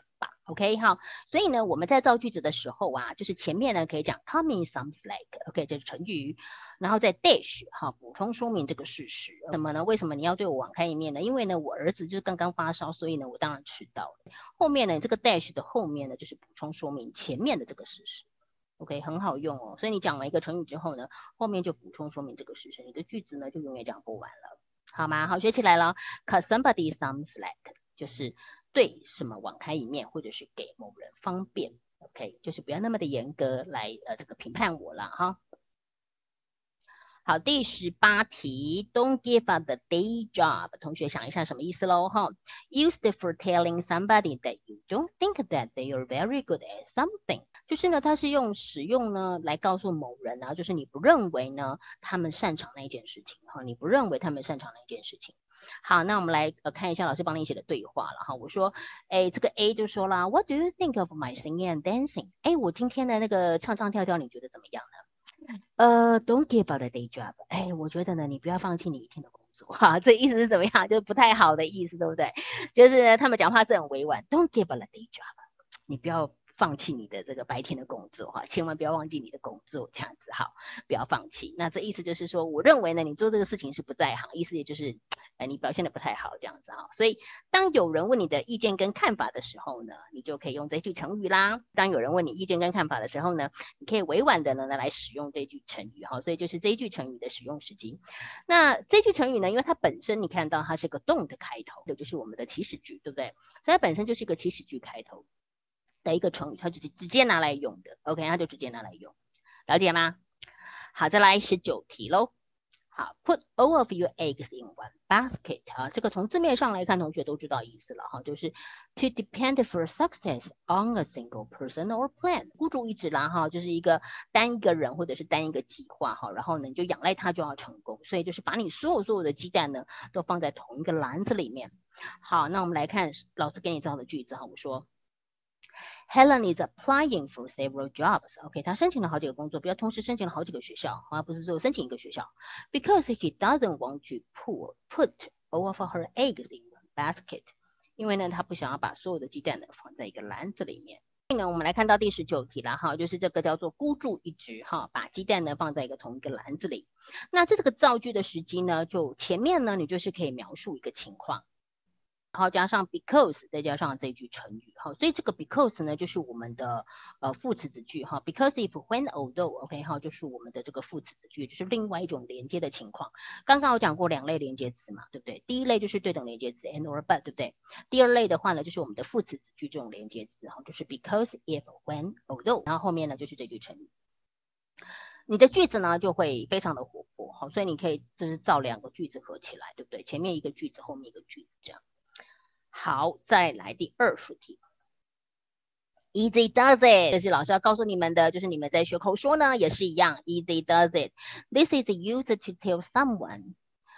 OK 好，所以呢，我们在造句子的时候啊，就是前面呢可以讲 coming sounds like，OK 这是成语，然后再 dash 哈补充说明这个事实。什么呢？为什么你要对我网开一面呢？因为呢我儿子就刚刚发烧，所以呢我当然迟到了。后面呢这个 dash 的后面呢就是补充说明前面的这个事实。OK 很好用哦，所以你讲完一个成语之后呢，后面就补充说明这个事实，你的句子呢就永远讲不完了，好吗？好，学起来了。Cause somebody sounds like 就是对什么网开一面，或者是给某人方便 ，OK，就是不要那么的严格来这个评判我了哈。好，第18题 ，Don't give up the day job。同学想一下什么意思喽？哈，used for telling somebody that you don't think that they are very good at something。就是呢，它是使用呢来告诉某人啊，就是你不认为呢他们擅长那一件事情哈，你不认为他们擅长那一件事情。好，那我们来看一下老师帮你写的对话了哈。我说，哎，这个 A 就说啦 ，What do you think of my singing and dancing？ 哎，我今天的那个唱唱跳跳，你觉得怎么样呢？Don't give up a day job。哎，我觉得呢，你不要放弃你一天的工作哈。这意思是怎么样？就是不太好的意思，对不对？就是他们讲话是很委婉。Don't give up a day job，你不要放弃你的这个白天的工作哈，千万不要忘记你的工作，这样子好，不要放弃。那这意思就是说，我认为呢，你做这个事情是不在行，意思也就是，你表现的不太好这样子哈。所以当有人问你的意见跟看法的时候呢，你就可以用这句成语啦。当有人问你意见跟看法的时候呢，你可以委婉的呢来使用这句成语哈。所以就是这一句成语的使用时机。那这句成语呢，因为它本身你看到它是个动的开头，就是我们的祈使句，对不对？所以它本身就是一个祈使句开头的一个成语，它就直接拿来用的 ，OK， 它就直接拿来用，了解吗？好，再来19题喽。好 ，put all of your eggs in one basket 啊，这个从字面上来看，同学都知道意思了哈，就是 to depend for success on a single person or plan， 孤注一掷啦哈，就是单一个人或者是单一个计划哈，然后呢你就仰赖它就要成功，所以就是把你所有的鸡蛋呢都放在同一个篮子里面。好，那我们来看老师给你造的句子哈，我说。Helen is applying for several jobs. OK， 她申请了好几个工作，不要同时申请了好几个学校，而不是只有申请一个学校。Because he doesn't want to put all of her eggs in one basket， 因为呢，他不想要把所有的鸡蛋呢放在一个篮子里面。所以呢，我们来看到第19题了哈，就是这个叫做孤注一掷哈，把鸡蛋呢放在同一个篮子里。那这个造句的时机呢，就前面呢，你就是可以描述一个情况。然后加上 because， 再加上这句成语，好，所以这个 because 呢就是我们的副词子句哈 ，because if when although，OK 哈，就是我们的这个副词子句，就是另外一种连接的情况。刚刚有讲过2类连接词嘛，对不对？第一类就是对等连接词 and or but， 对不对？第二类的话呢，就是我们的副词子句这种连接词哈，就是 because if when although， 然后后面呢就是这句成语。你的句子呢就会非常的活泼，好，所以你可以就是造2个句子合起来，对不对？前面一个句子，后面一个句子这样。好，再来第20题。Easy does it， 这是老师要告诉你们的，就是你们在学口说呢也是一样 ，Easy does it。This is used to tell someone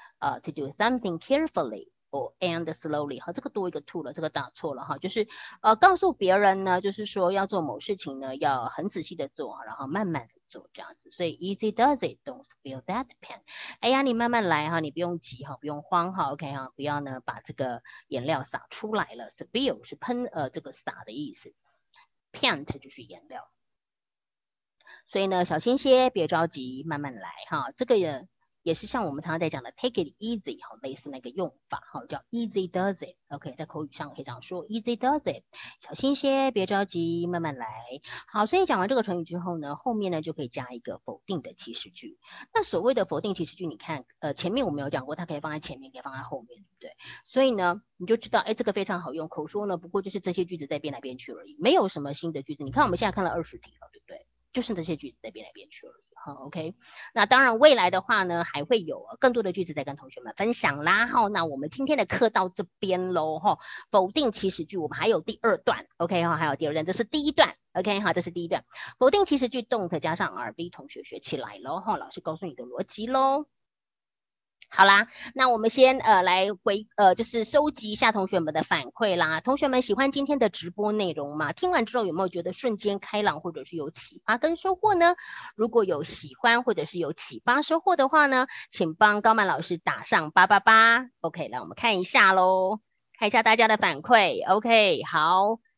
to do something carefully or and slowly。好，这个多一个 to 了，这个打错了哈，就是告诉别人呢，就是说要做某事情呢，要很仔细的做，然后慢慢的做这样子。所以 Easy does it，don't spill that pen。哎呀，你慢慢来哈，你不用急哈，不用慌哈 ，OK 哈，不要呢把这个颜料洒出来了。Spill 是喷这个洒的意思 ，paint 就是颜料。所以呢，小心些，别着急，慢慢来哈。这个也是像我们常常在讲的 take it easy 哈，类似那个用法哈，叫 easy does it。OK， 在口语上可以这样说 easy does it， 小心些，别着急，慢慢来。好，所以讲完这个成语之后呢，后面呢就可以加一个否定的祈使句。那所谓的否定祈使句，你看前面我们有讲过，它可以放在前面，可以放在后面，对不对？所以呢，你就知道，哎，这个非常好用。口说呢，不过就是这些句子在变来变去而已，没有什么新的句子。你看我们现在看了20题了，对不对？就是这些句子在变来变去而已。好 ，OK。那当然，未来的话呢，还会有更多的句子在跟同学们分享啦。好，那我们今天的课到这边喽。哈，否定祈使句我们还有第2段 ，OK 哈，还有第2段，这是第1段 ，OK 好，这是第1段。否定祈使句 don't 加上 RB， 同学学起来喽。哈，老师告诉你的逻辑喽。好啦，那我们先来就是收集一下同学们的反馈啦。同学们喜欢今天的直播内容吗？听完之后有没有觉得瞬间开朗，或者是有启发跟收获呢？如果有喜欢或者是有启发收获的话呢，请帮高曼老师打上888。OK， 来我们看一下咯，看一下大家的反馈。OK， 好。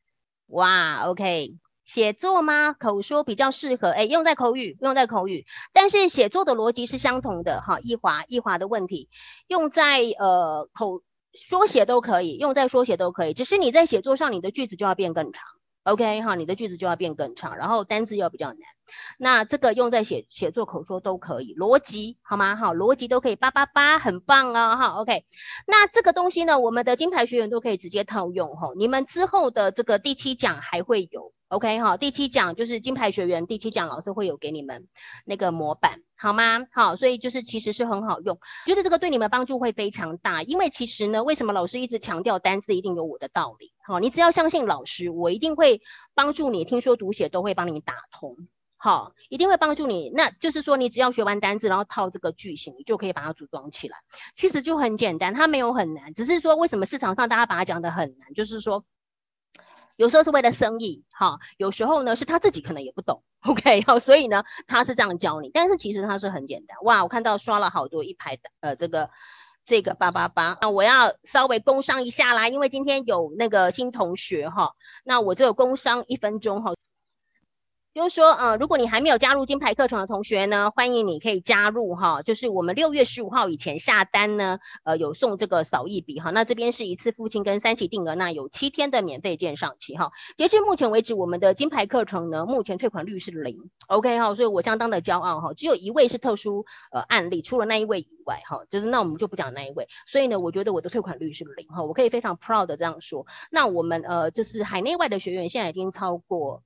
哇 ，OK。写作吗？口说比较适合，用在口语，用在口语，但是写作的逻辑是相同的哈。易华的问题，用在说写都可以，用在说写都可以，只是你在写作上你的句子就要变更长。OK 哈，你的句子就要变更长，然后单字要比较难。那这个用在写作、口说都可以，逻辑好吗？好，逻辑都可以，888，很棒哦哈。OK， 那这个东西呢，我们的金牌学员都可以直接套用哈。你们之后的这个第7讲还会有 OK 哈，第7讲就是金牌学员第7讲，老师会有给你们那个模板，好吗？好，所以就是其实是很好用，觉得这个对你们帮助会非常大，因为其实呢，为什么老师一直强调单字一定有我的道理？好，你只要相信老师，我一定会帮助你，听说读写都会帮你打通。好，一定会帮助你。那就是说，你只要学完单字，然后套这个句型，你就可以把它组装起来。其实就很简单，它没有很难，只是说为什么市场上大家把它讲得很难，就是说有时候是为了生意，哈，有时候呢是他自己可能也不懂 ，OK， 好，所以呢他是这样教你，但是其实它是很简单。哇，我看到刷了好多一排的这个888，那我要稍微工商一下啦，因为今天有那个新同学哈，那我只有工商1分钟哈。就是说，如果你还没有加入金牌课程的同学呢，欢迎你可以加入哈。就是我们6月15号以前下单呢，有送这个扫一笔哈。那这边是一次付清跟3期定额，那有7天的免费鉴赏期哈。截至目前为止，我们的金牌课程呢，目前退款率是0，OK 哈，所以我相当的骄傲哈。只有1位是特殊案例，除了那1位以外哈，就是那我们就不讲那1位。所以呢，我觉得我的退款率是0哈，我可以非常 proud 的这样说。那我们就是海内外的学员现在已经超过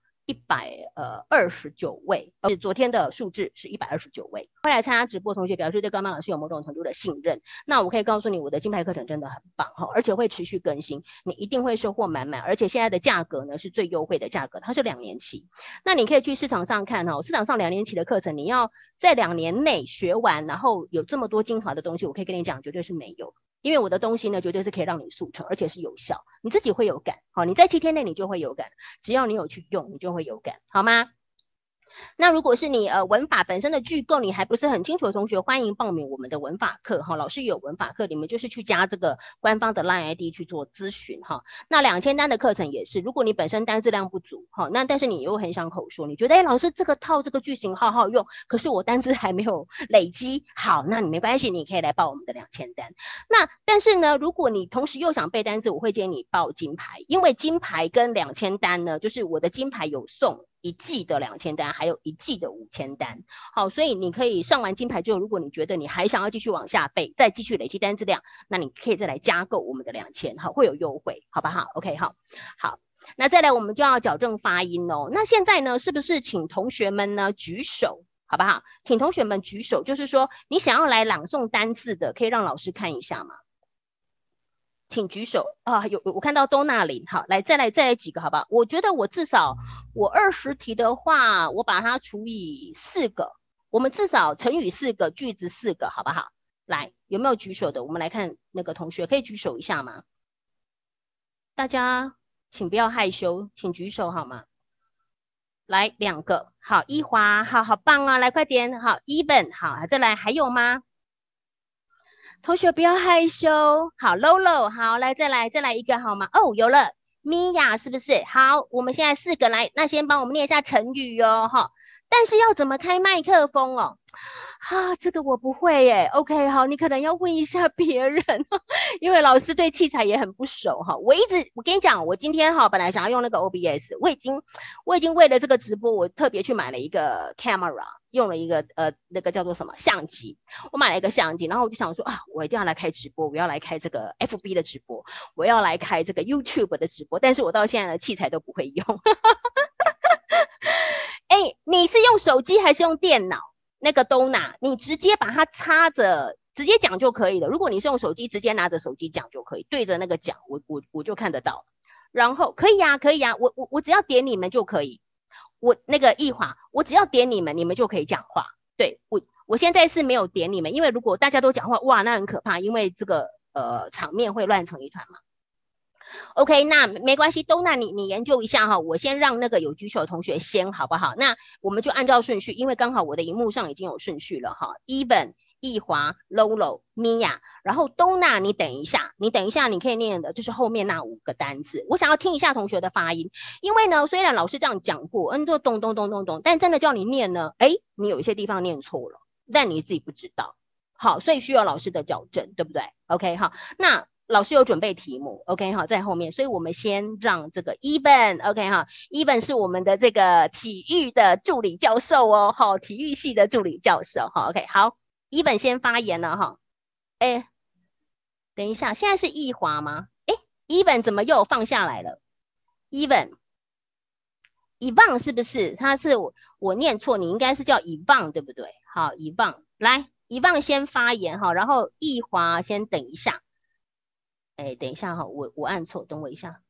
129位，昨天的数字是129位。会来参加直播的同学表示对高曼老师有某种程度的信任，那我可以告诉你，我的金牌课程真的很棒哈，而且会持续更新，你一定会收获满满。而且现在的价格呢是最优惠的价格，它是2年期。那你可以去市场上看哈，市场上2年期的课程，你要在2年内学完，然后有这么多精华的东西，我可以跟你讲，绝对是没有。因为我的东西呢，绝对是可以让你速成，而且是有效，你自己会有感。好，你在7天内你就会有感，只要你有去用，你就会有感，好吗？那如果是你文法本身的句构你还不是很清楚的同学，欢迎报名我们的文法课哈。老师有文法课，你们就是去加这个官方的 LINE ID 去做咨询哈。那2000单的课程也是，如果你本身单字量不足哈，那但是你又很想口说，你觉得老师这个套这个句型好好用，可是我单字还没有累积好，那你没关系，你可以来报我们的2000单。那但是呢，如果你同时又想背单字，我会建议你报金牌，因为金牌跟2000单呢，就是我的金牌有送1季的2000单，还有1季的5000单。好，所以你可以上完金牌之后，如果你觉得你还想要继续往下背，再继续累积单字量，那你可以再来加购我们的2000，好，会有优惠，好不好 ？OK， 好，好，那再来我们就要矫正发音哦。那现在呢，是不是请同学们呢举手，好不好？请同学们举手，就是说你想要来朗诵单字的，可以让老师看一下吗？请举手啊！我看到都那里，好，来再来几个，好不好？我觉得我至少我20题的话，我把它除以4个，我们至少乘以4个，句子4个，好不好？来，有没有举手的？我们来看那个同学，可以举手一下吗？大家请不要害羞，请举手好吗？来2个，好，一华，好棒啊！来快点，好，even，好，再来还有吗？同学不要害羞，好 ，Lolo， 好，来再来一个好吗？哦，有了，米娅是不是？好，我们现在4个来，那先帮我们念一下成语哦，哈。但是要怎么开麦克风哦？这个我不会耶。OK， 好，你可能要问一下别人，因为老师对器材也很不熟哈。我跟你讲，我今天本来想要用那个 OBS， 我已经为了这个直播，我特别去买了一个 camera， 用了一个那个叫做什么相机，我买了一个相机，然后我就想说我一定要来开直播，我要来开这个 FB 的直播，我要来开这个 YouTube 的直播，但是我到现在的器材都不会用。你是用手机还是用电脑？那个都拿，你直接把它插着，直接讲就可以了。如果你是用手机，直接拿着手机讲就可以，对着那个讲，我就看得到。然后可以啊，我只要点你们就可以。我那个易华，我只要点你们，你们就可以讲话。对，我现在是没有点你们，因为如果大家都讲话，哇，那很可怕，因为这个场面会乱成一团嘛。OK， 那没关系，都那你研究一下哈，我先让那个有举手的同學先好不好？那我们就按照顺序，因为刚好我的荧幕上已经有顺序了哈。Even 易华、Lolo、Mia， 然后东娜，你等一下，你可以念的就是后面那5个单字。我想要听一下同学的发音，因为呢，虽然老师这样讲过，就咚咚咚咚咚，但真的叫你念呢，你有一些地方念错了，但你自己不知道。好，所以需要老师的矫正，对不对 ？OK， 好，那老师有准备题目 ，OK， 好，在后面，所以我们先让这个 Even，OK， 哈 ，Even 是我们的这个体育的助理教授哦，好，体育系的助理教授，好 ，OK， 好 ，Even 先发言了哈，等一下，现在是易华吗？Even 怎么又放下来了 ？Even， Evan 是不是？他是我念错，你应该是叫 Evan 对不对？好，Evan 来，Evan 先发言哈，然后易华先等一下。等一下哈，我按错，等我一下。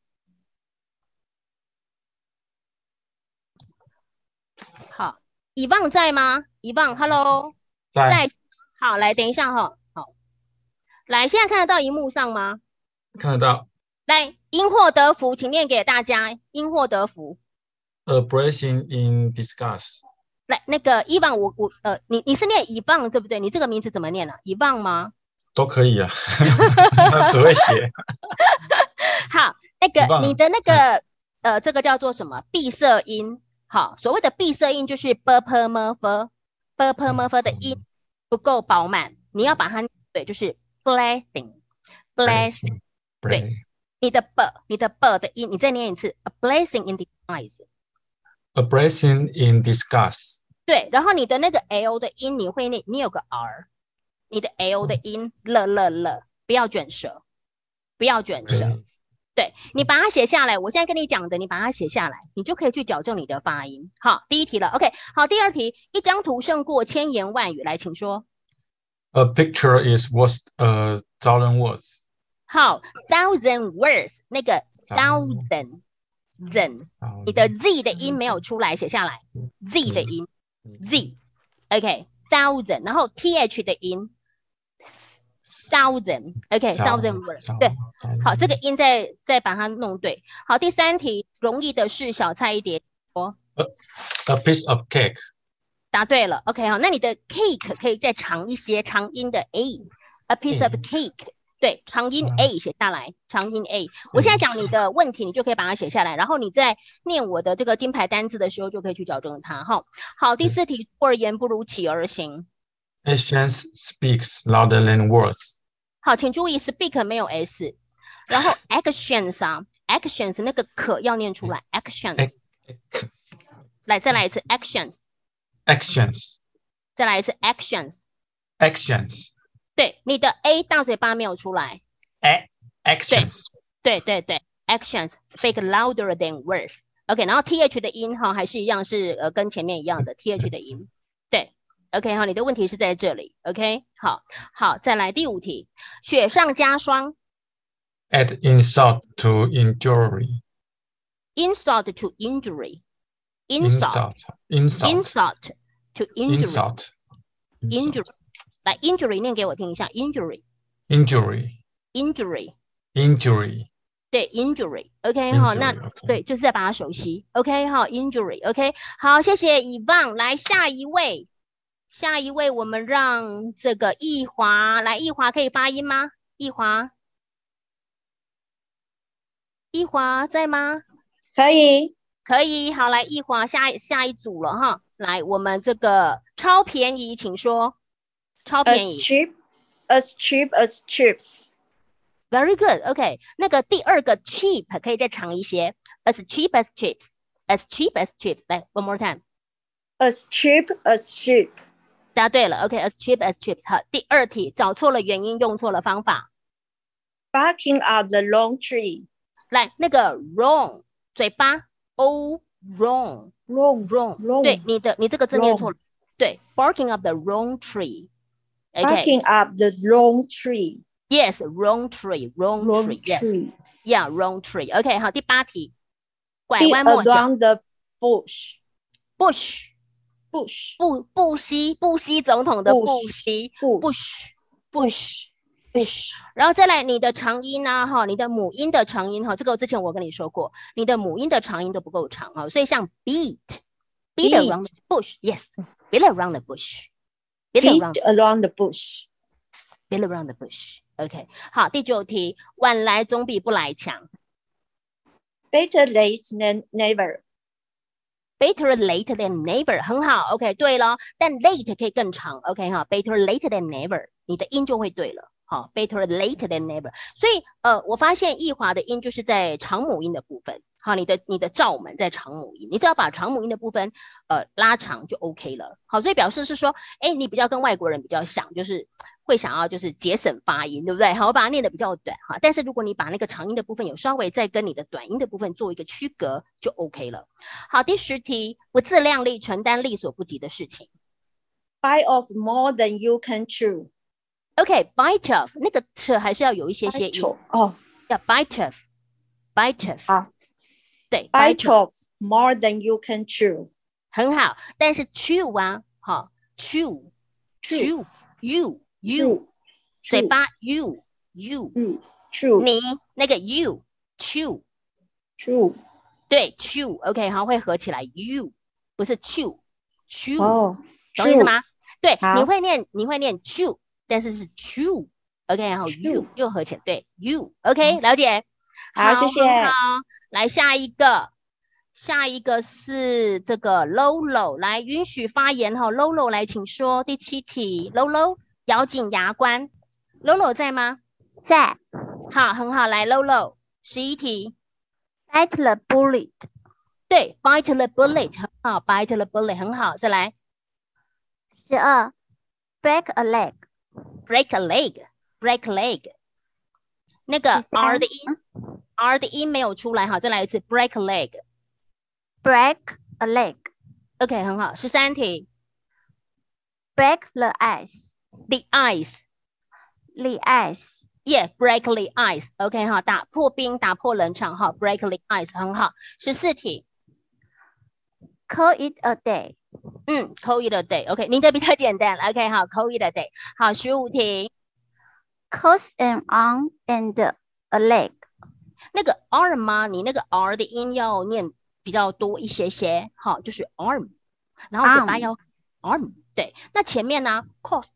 好，以望在吗？以望 ，Hello， 在。好，来，等一下哈。好，来，现在看得到荧幕上吗？ 看得到。 来，因祸得福，请念给大家。因祸得福。 A blessing in disguise。 来，那个以望，你是念以望对不对？你这个名字怎么念啊？以望吗？ 都可以啊，只会写。 好，那个你的那个这个叫做什么？闭塞音。好，所谓的闭塞音就是 b p m f 的音不够饱满，你要把它对，就是 blessing。对，你的 b 的音，你再念一次 ，a blessing in disguise。a blessing in disguise。对， 然后你的那个 l 的音，你会念，你有个 r。你的 L 的音了，不要卷舌，对，你把它写下来。我现在跟你讲的，你把它写下来，你就可以去矫正你的发音。好，第一题了 ，OK。好，第二题，一张图胜过千言万语。来，请说。 A picture is worth a thousand words。 好 ，thousand words， 那个 thousand， 你的 z 的音没有出来，写下来 z 的音 z，OK，thousand， 然后 th 的音。thousand，OK，thousand words， 对，好，这个音再把它弄对。好，第三题，容易的是小菜一碟。 A piece of cake。 答对了 ，OK， 好，那你的 cake 可以再长一些，长音的 a piece of cake， 对，长音 a 写下来，长音 a。我现在讲你的问题，你就可以把它写下来，然后你在念我的这个金牌单字的时候，就可以去矫正它。哈，好，第四题，出而言不如起而行。 Actions speaks louder than words。 好，请注意 speak 没有 s， 然后 actions 啊 ，actions 那个可要念出来 ，actions。来，再来一次 actions。actions。再来一次 actions。actions。对，你的 a 大嘴巴没有出来。 actions。 对 ，actions speak louder than words。OK， 然后 th 的音哈还是一样是跟前面一样的 th 的音。对。OK， 好，你的问题是在这里。OK， 好，再来第五题，雪上加霜。 Add insult to injury。 insult to injury。 insult to injury。injury。来 ，injury 念给我听一下 ，injury。对 ，injury。OK， 好，那对，就是在把它熟悉。OK， 好 ，injury。OK， 好，谢谢以望。来，下一位，我们让这个易华来，易华可以发音吗？易华在吗？可以，好，来易华下一组了哈。来，我们这个超便宜，请说。超便宜。 As cheap as chips。Very good。OK， 那个第二个 cheap 可以再长一些。As cheap as chips。As cheap as chips。来 ，one more time。As cheap as chips。 答对了 ，OK，as cheap as chips。好，第二题找错了原因，用错了方法。 Barking up the wrong tree。 来，那个 wrong 嘴巴 o wrong。对，你这个字念错了。对 ，barking up the wrong tree。Barking up the wrong tree。 Yes, wrong tree. Yes. Yeah, wrong tree. OK， 好，第八题，拐弯抹角。 Around the bush。 不惜总统的不惜 bush。然后再来你的长音啊哈，你的母音的长音哈，这个之前我跟你说过，你的母音的长音都不够长啊，所以像 beat around the bush， yes，beat around the bush。 Beat around the bush. Beat around the bush. OK， 好，第9题，晚来总比不来强。 Better late than never. Better late than never， 很好 ，OK， 对了，但 late 可以更长 ，OK 哈，Better late than never， 你的音就会对了，好 ，Better late than never， 所以我发现易华的音就是在长母音的部分，好，你的罩门在长母音，你只要把长母音的部分拉长就 OK 了，好，所以表示是说，哎，你比较跟外国人比较像，就是会想要就是节省发音，对不对？好，我把它念的比较短哈，但是如果你把那个长音的部分有稍微再跟你的短音的部分做一个区隔，就 OK 了。好，第10题，不自量力，承担力所不及的事情。 Bite off more than you can chew. OK，bite off 那个 t 还是要有一些音哦， 要 bite off，bite off。 好， 对 ，bite off more than you can chew. 很好，但是 chew 啊，好 chew you 嘴巴 you chew 你那个 you chew 对 chew OK 好会合起来 you 不是 chew 哦， 懂意思吗？对， 好你会念 chew， 但是是 chew OK 然后 you 又合起来对 you OK 了解。 好，谢谢。 好，来下一个是这个 Lolo， 来允许发言哈 ，Lolo 来请说第7题 ，Lolo 咬紧牙关 ，Lolo 在吗？ 在。 好，很好，来 Lolo 11题 ，bite the bullet， 对 ，bite the bullet 很好 ，bite the bullet 很好，再来 12 break a leg， break a leg， 那个 R 的音没有出来，好，再来一次 break a leg，break a leg OK 很好，13题 break the ice， the ice Yeah, break the ice. OK 哈，打破冰，打破冷场哈。break the ice 很好。14题 call it a day. call it a day. OK， 你的比较简单。OK 好 call it a day。好，15题 cross an arm and a leg. 那个 arm 吗？你那个 R 的音要念比较多一些些，好，就是 arm， 然后嘴巴要 arm。对，那前面呢 cost。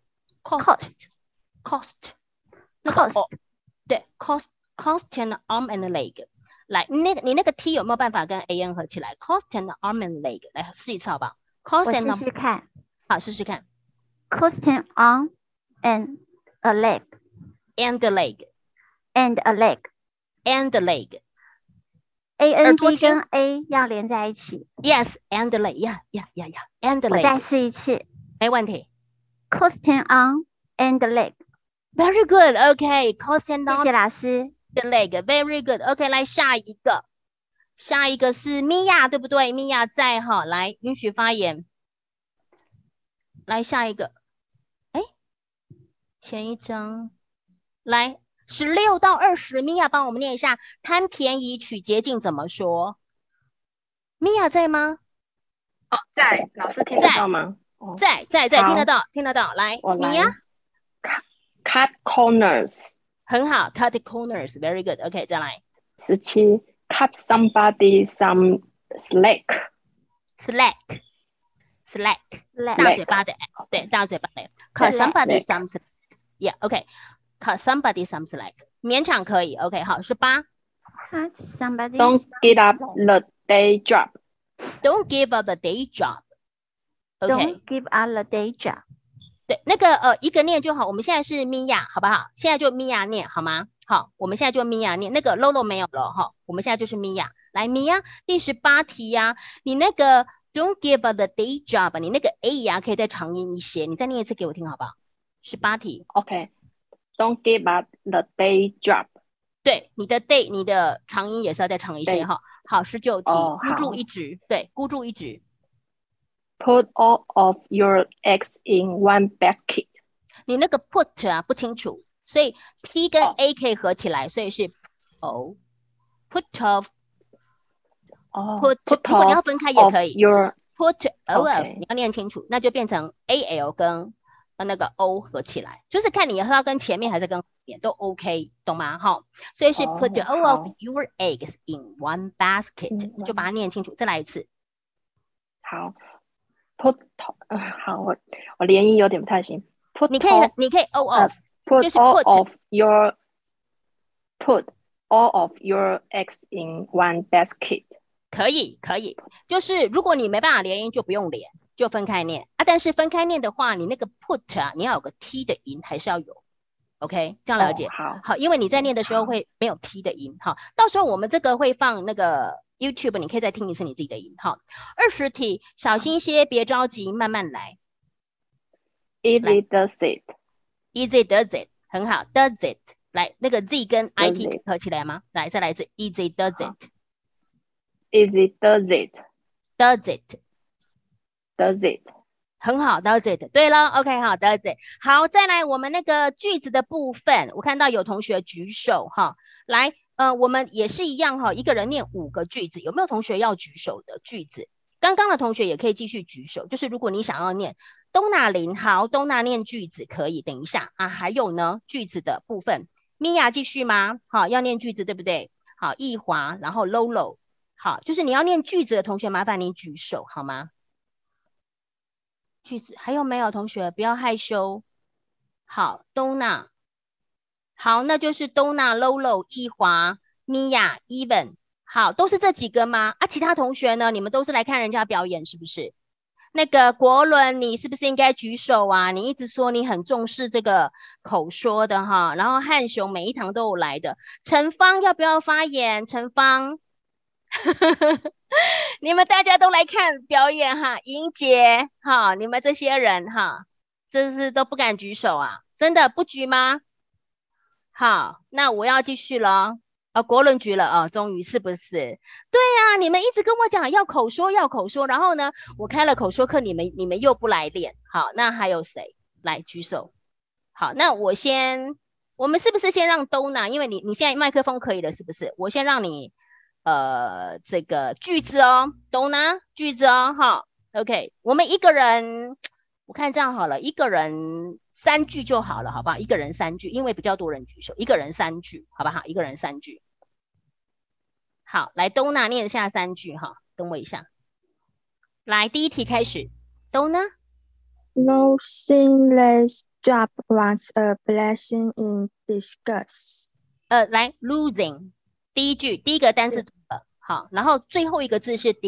对 cost and arm and leg， 来，你那个 T 有没有办法跟 AN 合起来 ？cost and arm and leg， 来试一次好不好？ 我试试看。 好，试试看。 cost an arm and a leg and a leg and a leg and a leg。 AND 跟 A 要连在一起。 Yes and leg and leg。 我再试一次。 没问题。 cost an arm and a leg。Very good. OK. Cost and arm。 谢谢老师。 The leg. Very good. OK. 来下一个是米娅，对不对？米娅在哈，来允许发言。来下一个，哎，前一张，来16到20，米娅帮我们念一下，贪便宜取捷径怎么说？米娅在吗？ 哦，在，老师听得到吗？ 在，听得到，来，米娅。 Cut corners， 很好 ，cut corners，very good。OK， 再来。 17 ，cut somebody some slack， 大嘴巴的，对，大嘴巴的 ，cut somebody some slack，yeah，OK，cut somebody some slack， 勉强可以，OK， 好，18 ，cut somebody don't give up the day job， don't give up the day job，OK， don't give up the day job。 对，那个一个念就好。我们现在是米娅，好不好？现在就米娅念好吗？好，我们现在就米娅念。那个 Lolo 没有了哈，我们现在就是米娅。来，米娅，第18题呀，你那个 don't give up the day job， 你那个 A 呀可以再长音一些，你再念一次给我听好不好？18题 ，OK，don't give up the day job。 对，你的 day， 你的长音也是要再长一些哈。好，19题，孤注一掷，对，孤注一掷。 Put all of your eggs in one basket。 你那个 put 啊不清楚，所以 T 跟 A 可以合起来，所以是 O。Put off。如果你要分开也可以。Put off， 你要念清楚，那就变成 AL 跟那个 O 合起来，就是看你要跟前面还是跟后面都 OK， 懂吗？哈，所以是 Put all of your eggs in one basket， 就把它念清楚。再来一次。 好。 put 好，我连音有点不太行。Put 你可以 all off， 就是 all put of your put all of your eggs in one basket。 可以，就是如果你没办法连音，就不用连，就分开念啊。但是分开念的话，你那个 put 啊，你要有个 t 的音，还是要有。OK， 这样了解。好，因为你在念的时候会没有 t 的音。好，到时候我们这个会放那个 YouTube， 你可以再听一次你自己的音。好，20题，小心些，别着急，慢慢来。 Easy does it。 Easy does it， 很好 ，does it。来，那个 z 跟 it 合起来吗？来，再来一次 ，Easy does it。Easy does it。Does it。Does it。 很好 ，does it。对了 ，OK， 好 ，does it。好，再来我们那个句子的部分，我看到有同学举手哈，来，我们也是一样哈，一个人念5个句子，有没有同学要举手的句子？刚刚的同学也可以继续举手，就是如果你想要念东娜林，好，东娜念句子可以，等一下啊，还有呢，句子的部分，米娅继续吗？好，要念句子对不对？好，易华，然后 Lolo， 好，就是你要念句子的同学，麻烦你举手好吗？句子还有没有同学？不要害羞。好，东娜，好，那就是东娜、Lolo、易华、米娅、Even， 好，都是这几个吗？啊，其他同学呢？你们都是来看人家表演是不是？那个国伦，你是不是应该举手啊？你一直说你很重视这个口说的哈，然后汉雄每一堂都有来的。陈芳要不要发言？陈芳，你们大家都来看表演哈，莹姐哈，你们这些人哈，这是都不敢举手啊？真的不举吗？好，那我要继续了。国伦举了啊，终于是不是？对啊，你们一直跟我讲要口说，然后呢，我开了口说课，你们又不来练。好，那还有谁来举手？好，那我们是不是先让Donna，因为你现在麦克风可以了，是不是？我先让你这个句子哦，Donna句子哦，哈 ，OK， 我们一个人，我看这样好了，一个人3句就好了，好不好？一个人3句，因为比较多人举手，一个人3句，好不好？一个人3句。好，来Donna念下3句哈，等我一下。来，第一题开始，Donna。 Losing this job was a blessing in disguise。 来 losing 第一句，第一个单字好，然后最后一个字是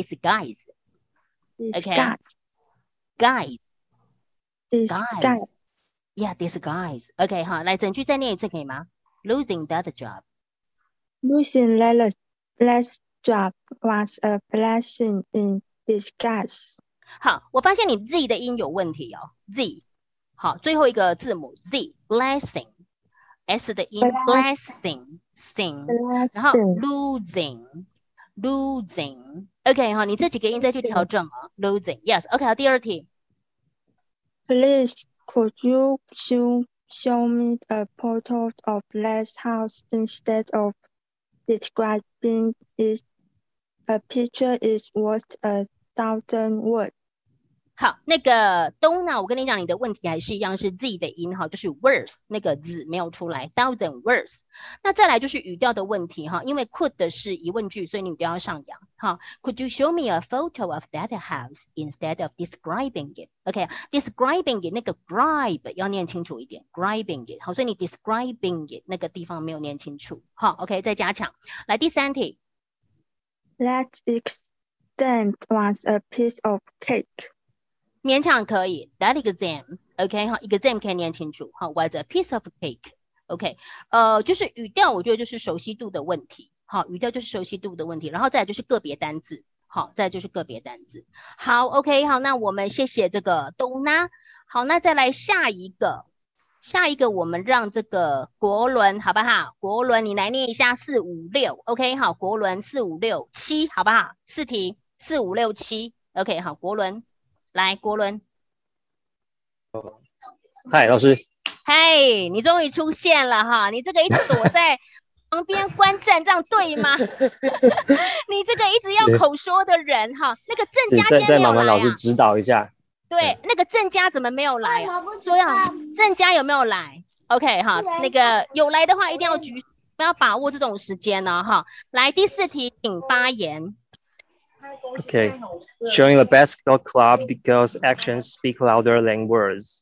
disguise。OK。disguise。Yeah，disguise。OK， 好，来整句再念一次可以吗 ？Losing that job。 Losing that job was a blessing in disguise。 好，我发现你 Z 的音有问题哦 ，Z。好，最后一个字母 Z，blessing，S 的音 blessing，sing，然后 losing，OK， 好，你这几个音再去调整哦 ，losing，yes，OK， 好，第二题。 Please, could you show me a photo of that house instead of describing it? A picture is worth 1,000 words. 好，那个Donna，我跟你讲，你的问题还是一样是 Z 的音哈，就是 words 那个字没有出来 ，1,000 words。那再来就是语调的问题哈，因为 could 是疑问句，所以你语调要上扬哈。Could you show me a photo of that house instead of describing it？OK，describing it 那个 gribe 要念清楚一点 ，gribing it 好，所以你 describing it 那个地方没有念清楚，好 ，OK， 再加强。来第三题 That exam was a piece of cake。 勉强可以 ，that exam，OK， 好 ，exam 可以念清楚，好 ，was a piece of cake，OK，就是语调，我觉得就是熟悉度的问题，好，语调就是熟悉度的问题，然后再来就是个别单字，好，再来就是个别单字，好 ，OK， 好，那我们谢谢这个Donna，好，那再来下一个我们让这个国伦好不好？国伦你来念一下4、5、6，OK， 好，国伦4、5、6、7，好不好？4题4、5、6、7，OK， 好，国伦。来，国伦。 嗨，老师。 嗨，你终于出现了哈！你这个一直躲在旁边观战，这样对吗？你这个一直要口说的人哈，那个郑家今天没有来啊。 再麻烦老师指导一下。 对，那个郑家怎么没有来啊？说要郑家有没有来 ？OK 哈，那个有来的话一定要举，不要把握这种时间呢哈。来，第4题请发言。 Okay. Join the basketball club because actions speak louder than words.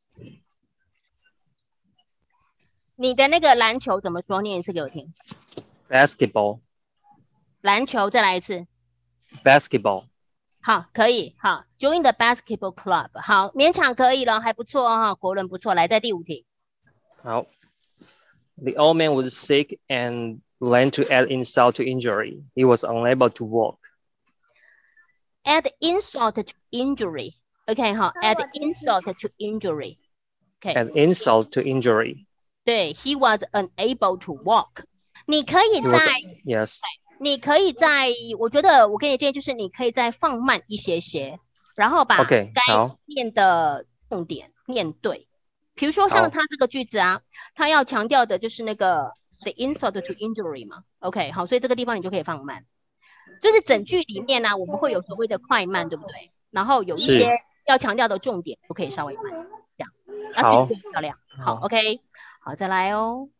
你的那个篮球怎么说？念一次给我听。 Basketball. 篮球，再来一次。 Basketball. 好，可以。好 ，Join the basketball club。好，勉强可以了，还不错哈，国伦不错。来，在第5题。 好。The old man was sick and learned to add insult to injury. He was unable to walk. Add insult to injury。OK， 好 ，add insult to injury。OK。 Add insult to injury. 对 ，He was unable to walk。你可以 He was, 在 yes. 你可以在，我觉得我给你建议就是，你可以再放慢一些些，然后把 OK， 该好念的重点念对。比如说像他这个句子啊，他要强调的就是那个 the insult to injury 嘛。OK， 好，所以这个地方你就可以放慢。就是整句里面呢、我们会有所谓的快慢，对不对？然后有一些要强调的重点，就可以稍微慢，这样，然后句子就很漂亮。好 ，OK， 好，再来哦。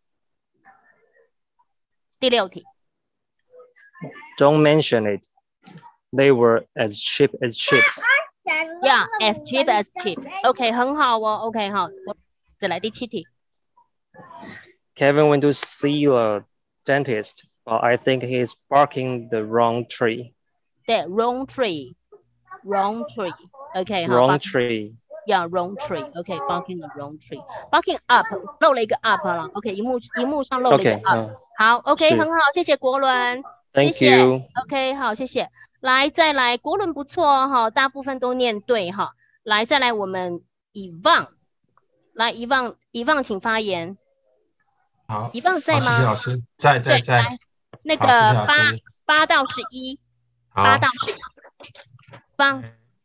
第6题。 Don't mention it. They were as cheap as chips. Yeah, as cheap as chips. OK， 很好哦。OK， 好，再来第7题。 Kevin went to see a dentist, but I think he's barking the wrong tree. 对 ，wrong tree，wrong tree。OK， 好 Wrong tree. Yeah, wrong tree. OK，barking the wrong tree. Barking up， 漏了一个 up 了。OK， 荧幕上漏了一个 up。好 ，OK， 很好，谢谢国伦。 Thank 谢谢 you. OK， 好，谢谢。来，再来，国伦不错哈，大部分都念对哈。来，再来我们以望，来以望，请发言。 好， 以望在吗？ 谢谢老师，在。 那个8到11，8到11，方。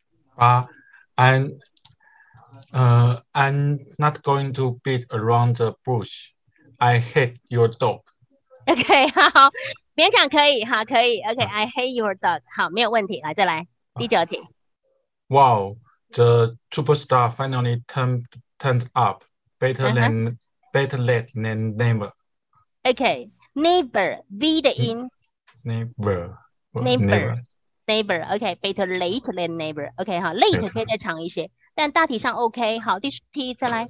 I'm not going to beat around the bush. I hate your dog. OK， 好，勉强可以哈，可以。OK，I hate your dog。好，没有问题。来，再来第9题。 Wow, the superstar finally turned up. Better late than never. OK，never V 的音。 Never. OK，better late than never。OK， 好 ，late 可以再长一些，但大体上 OK。好，第10题再来。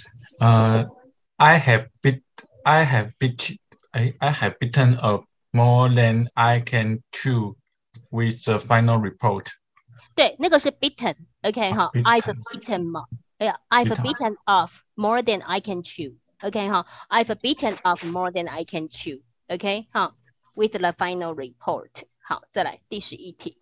I have beaten up more than I can chew with the final report. 对，那个是 beaten。OK， 好 ，I've beaten 嘛，I've beaten off more than I can chew。OK， 好 ，I've beaten off more than I can chew。OK， 好 ，with the final report。好，再来第11题。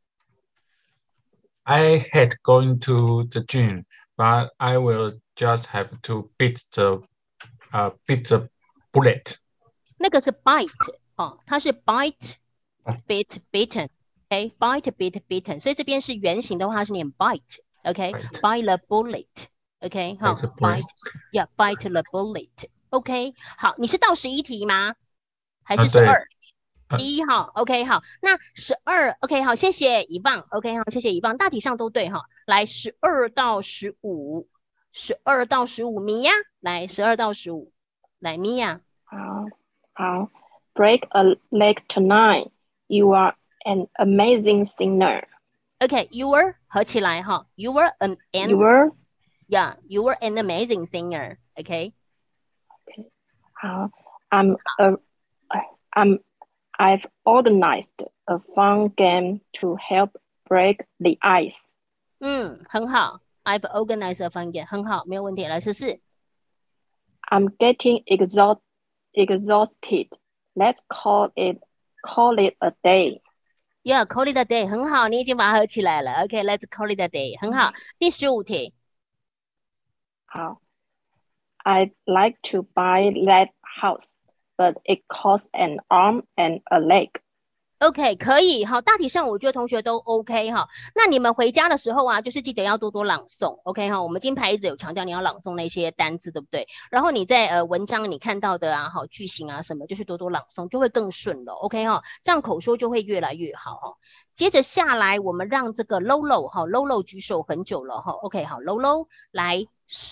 I hate going to the gym, but I will just have to beat the bullet. 那个是 bite 哦，它是 bite, bit, bitten。OK，bite, bit, bitten。所以这边是原型的话，它是念 bite。OK，bite the bullet。OK， 好 ，bite the bullet。OK， 好，你是到11题吗？还是12？1号 ，OK 好，那12 ，OK 好，谢谢遗忘 ，OK 好，谢谢遗忘，大体上都对哈。来12到15，12到15，米娅，来12到15，来米娅。 好 ，Break a leg tonight. You are an amazing singer. OK，you were 合起来哈 ，you were an You were you were an amazing singer. OK， 好 I've organized a fun game to help break the ice. 很好 ，I've organized a fun game， 很好，没有问题。来14。 I'm getting exhausted. Let's call it a day. Yeah, call it a day， 很好，你已经把它合起来了。OK，let's call it a day， 很好。第15题。 好 I'd like to buy that house, but it costs an arm and a leg. OK， 可以，好，大体上我觉得同学都 OK 哈。那你们回家的时候啊，就是记得要多多朗诵 ，OK 哈。我们金牌一直有强调你要朗诵那些单字，对不对？然后你在文章你看到的啊，好句型啊什么，就是多多朗诵，就会更顺了 ，OK 哈。这样口说就会越来越好哈。接着下来，我们让这个 Lolo 哈 ，Lolo 举手很久了哈 ，OK 好 ，Lolo 来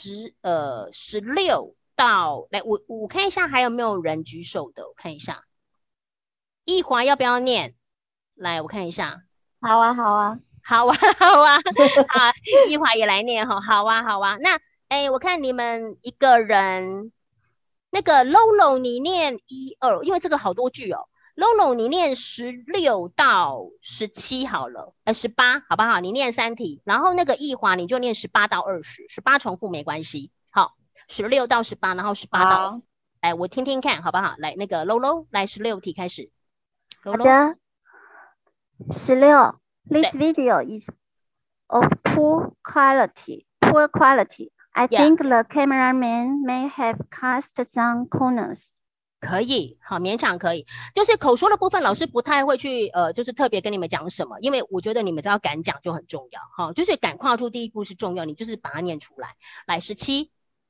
16到来我看一下还有没有人举手的，我看一下。易华要不要念？来，我看一下。 好啊，好啊。 好啊，好啊，好，一华也来念哈，好啊，好啊。那我看你们一个人，那个 Lolo 你念1、2，因为这个好多句哦。Lolo 你念16到17好了，18好不好？你念3题，然后那个一华你就念18到20，18重复没关系。好，16到18，然后18到20，来我听听看好不好？来那个 Lolo 来16题开始。 好的，16。This video is of poor quality. I think the cameraman may have cast some corners. 可以，好，勉强可以。就是口说的部分，老师不太会去就是特别跟你们讲什么，因为我觉得你们只要敢讲就很重要，哈，就是敢跨出第一步是重要，你就是把它念出来。来17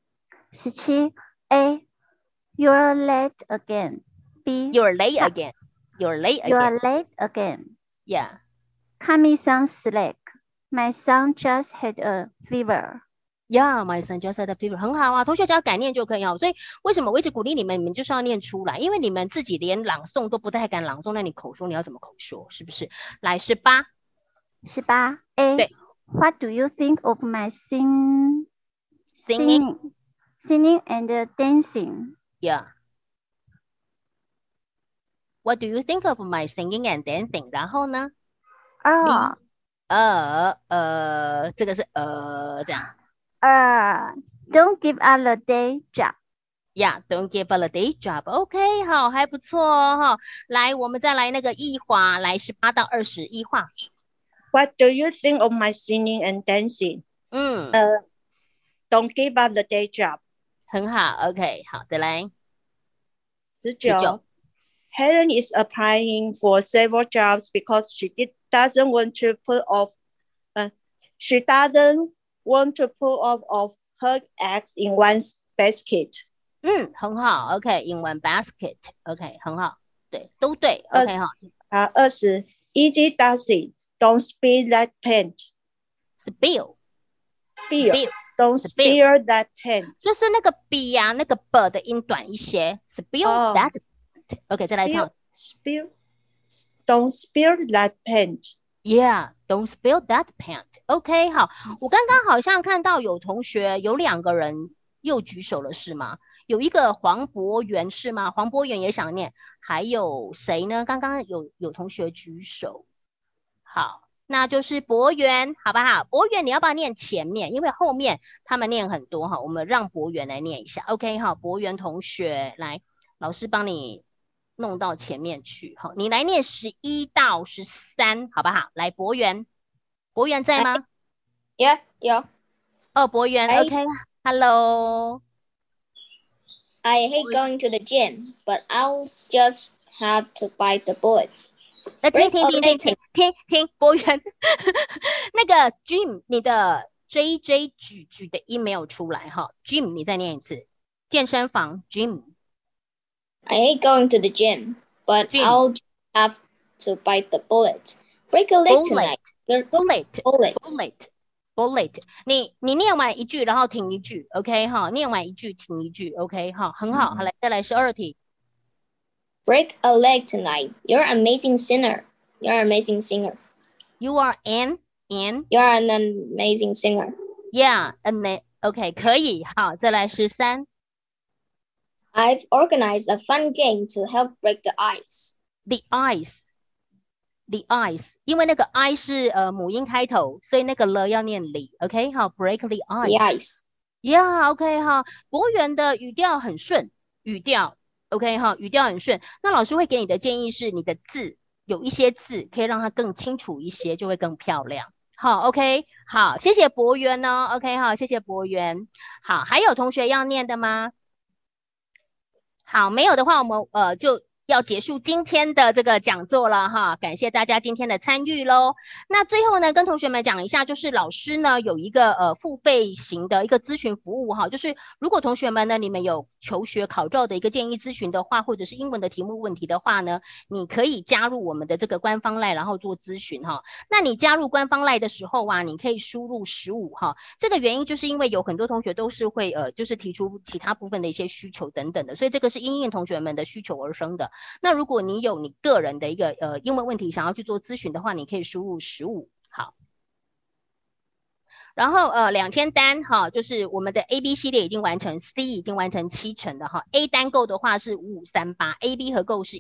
A. You're late again. B. You're late again. You're late again. Yeah. Cut me some slack. My son just had a fever. Yeah, my son just had a fever. 很好啊，同学只要敢念就可以哦。所以为什么我一直鼓励你们，你们就是要念出来，因为你们自己连朗诵都不太敢朗诵，那你口说你要怎么口说？是不是？来18 A. 对 What do you think of my singing and dancing? Yeah. What do you think of my singing and dancing? 然后呢？这个是这样。 Don't give up the day job. Yeah, don't give up the day job. OK， 好，还不错哦哈。来，我们再来那个一华，来18到20，一华。 What do you think of my singing and dancing? Don't give up the day job. 很好 ，OK， 好的，来。 19 Helen is applying for several jobs because she doesn't want to put off of her eggs in one basket. 很好 ，OK， in one basket， OK， 很好，对，都对 ，OK 哈。 20 Easy does it. Don't spill that paint. Spill. Don't spill that paint. 就是那个 b 呀，那个 b 的音短一些。Spill that. OK， 再来一趟。 Don't spill that paint. Yeah, don't spill that paint. OK， 好，我刚刚好像看到有同学有2个人又举手了，是吗？有一个黄博元是吗？黄博元也想念，还有谁呢？刚刚有同学举手，好，那就是博元，好不好？博元你要不要念前面？因为后面他们念很多哈，我们让博元来念一下。OK， 好，博元同学来，老师帮你弄到前面去，好，你来念11到13，好不好？来，博元在吗？ 有。 博元 ，OK，Hello。 I hate going to the gym, but I'll just have to bite the bullet. 听，博元，那个 gym 你的 JJ 举的音没有出来哈 ，gym 你再念一次，健身房 gym。 I hate going to the gym, but I'll just have to bite the bullet. Break a leg tonight. Bullet， 你念完一句，然后停一句 ，OK 哈，念完一句停一句 ，OK 哈，很好，好来再来12题。 Break a leg tonight. You're an amazing singer. You're an amazing singer. You are an You're an amazing singer. Yeah, OK 可以，好，再来13。 I've organized a fun game to help break the ice. The ice， 因为那个 I 是母音开头，所以那个了要念里 ，OK 好 ，break the ice。Yeah, OK 好，博元的语调很顺，语调 OK 好，语调很顺。那老师会给你的建议是，你的字有一些字可以让它更清楚一些，就会更漂亮。好 ，OK 好，谢谢博元哦 ，OK 好，谢谢博元。好，还有同学要念的吗？好，没有的话，我们就要结束今天的这个讲座了哈，感谢大家今天的参与咯。那最后呢，跟同学们讲一下，就是老师呢有一个付费型的一个咨询服务哈，就是如果同学们呢你们有求学考照的一个建议咨询的话，或者是英文的题目问题的话呢，你可以加入我们的这个官方 LINE 然后做咨询哈。那你加入官方 LINE 的时候啊，你可以输入15哈，这个原因就是因为有很多同学都是会就是提出其他部分的一些需求等等的，所以这个是因应同学们的需求而生的。 那如果你有你个人的一个英文问题想要去做咨询的话，你可以输入15。好。然后2000单哈，就是我们的 AB 系列已经完成 ，C 已经完成70%的哈 ，A 单购的话是5538，AB 合购是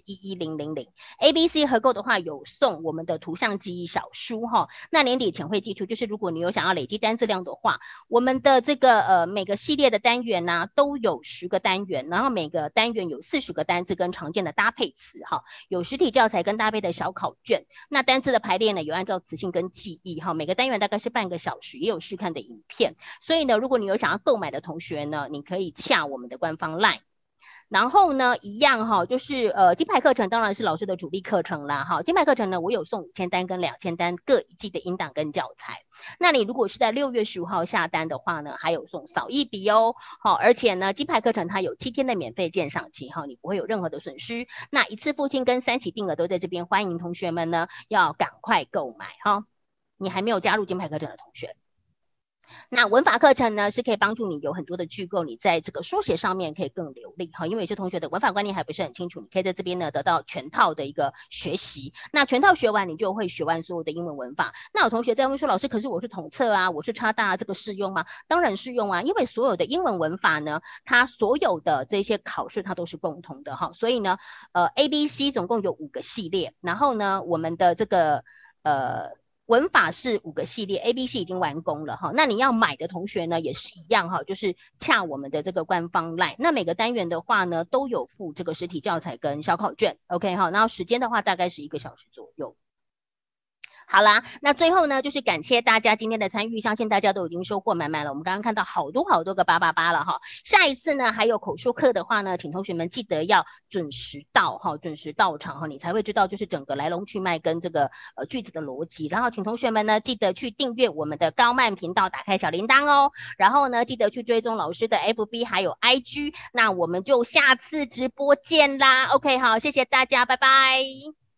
11000，ABC 合购的话有送我们的图像记忆小书哈。那年底前会寄出，就是如果你有想要累积单字量的话，我们的这个每个系列的单元呢、都有10个单元，然后每个单元有40个单字跟常见的搭配词哈，有实体教材跟搭配的小考卷。那单字的排列呢，有按照词性跟记忆哈，每个单元大概是半个小时，也有试看的影片，所以呢，如果你有想要购买的同学呢，你可以洽我们的官方 LINE。然后呢，一样哈，就是金牌课程当然是老师的主力课程啦哈。金牌课程呢，我有送5000单跟2000单各一季的音档跟教材。那你如果是在6月15号下单的话呢，还有送扫一笔哦。好，而且呢，金牌课程它有7天的免费鉴赏期哈，你不会有任何的损失。那一次付清跟3期定额都在这边，欢迎同学们呢要赶快购买哈。你还没有加入金牌课程的同学。那文法课程呢，是可以帮助你有很多的句构，你在这个书写上面可以更流利哈。因为有些同学的文法观念还不是很清楚，你可以在这边呢得到全套的一个学习。那全套学完，你就会学完所有的英文文法。那有同学在问说，老师，可是我是统测啊，我是插大啊，这个适用吗？当然适用啊，因为所有的英文文法呢，它所有的这些考试它都是共同的哈。所以呢，ABC 总共有5个系列，然后呢，我们的这个文法是5个系列 ，ABC 已经完工了哈。那你要买的同学呢，也是一样哈，就是洽我们的这个官方 LINE。那每个单元的话呢，都有附这个实体教材跟小考卷 ，OK 哈。然后时间的话，大概是1个小时左右。好啦，那最后呢，就是感谢大家今天的参与，相信大家都已经收获满满了。我们刚刚看到好多个888了哈。下一次呢，还有口说课的话呢，请同学们记得要准时到哈，准时到场哈，你才会知道就是整个来龙去脉跟这个句子的逻辑。然后请同学们呢，记得去订阅我们的高曼频道，打开小铃铛哦。然后呢，记得去追踪老师的 FB 还有 IG。那我们就下次直播见啦。OK， 好，谢谢大家，拜拜。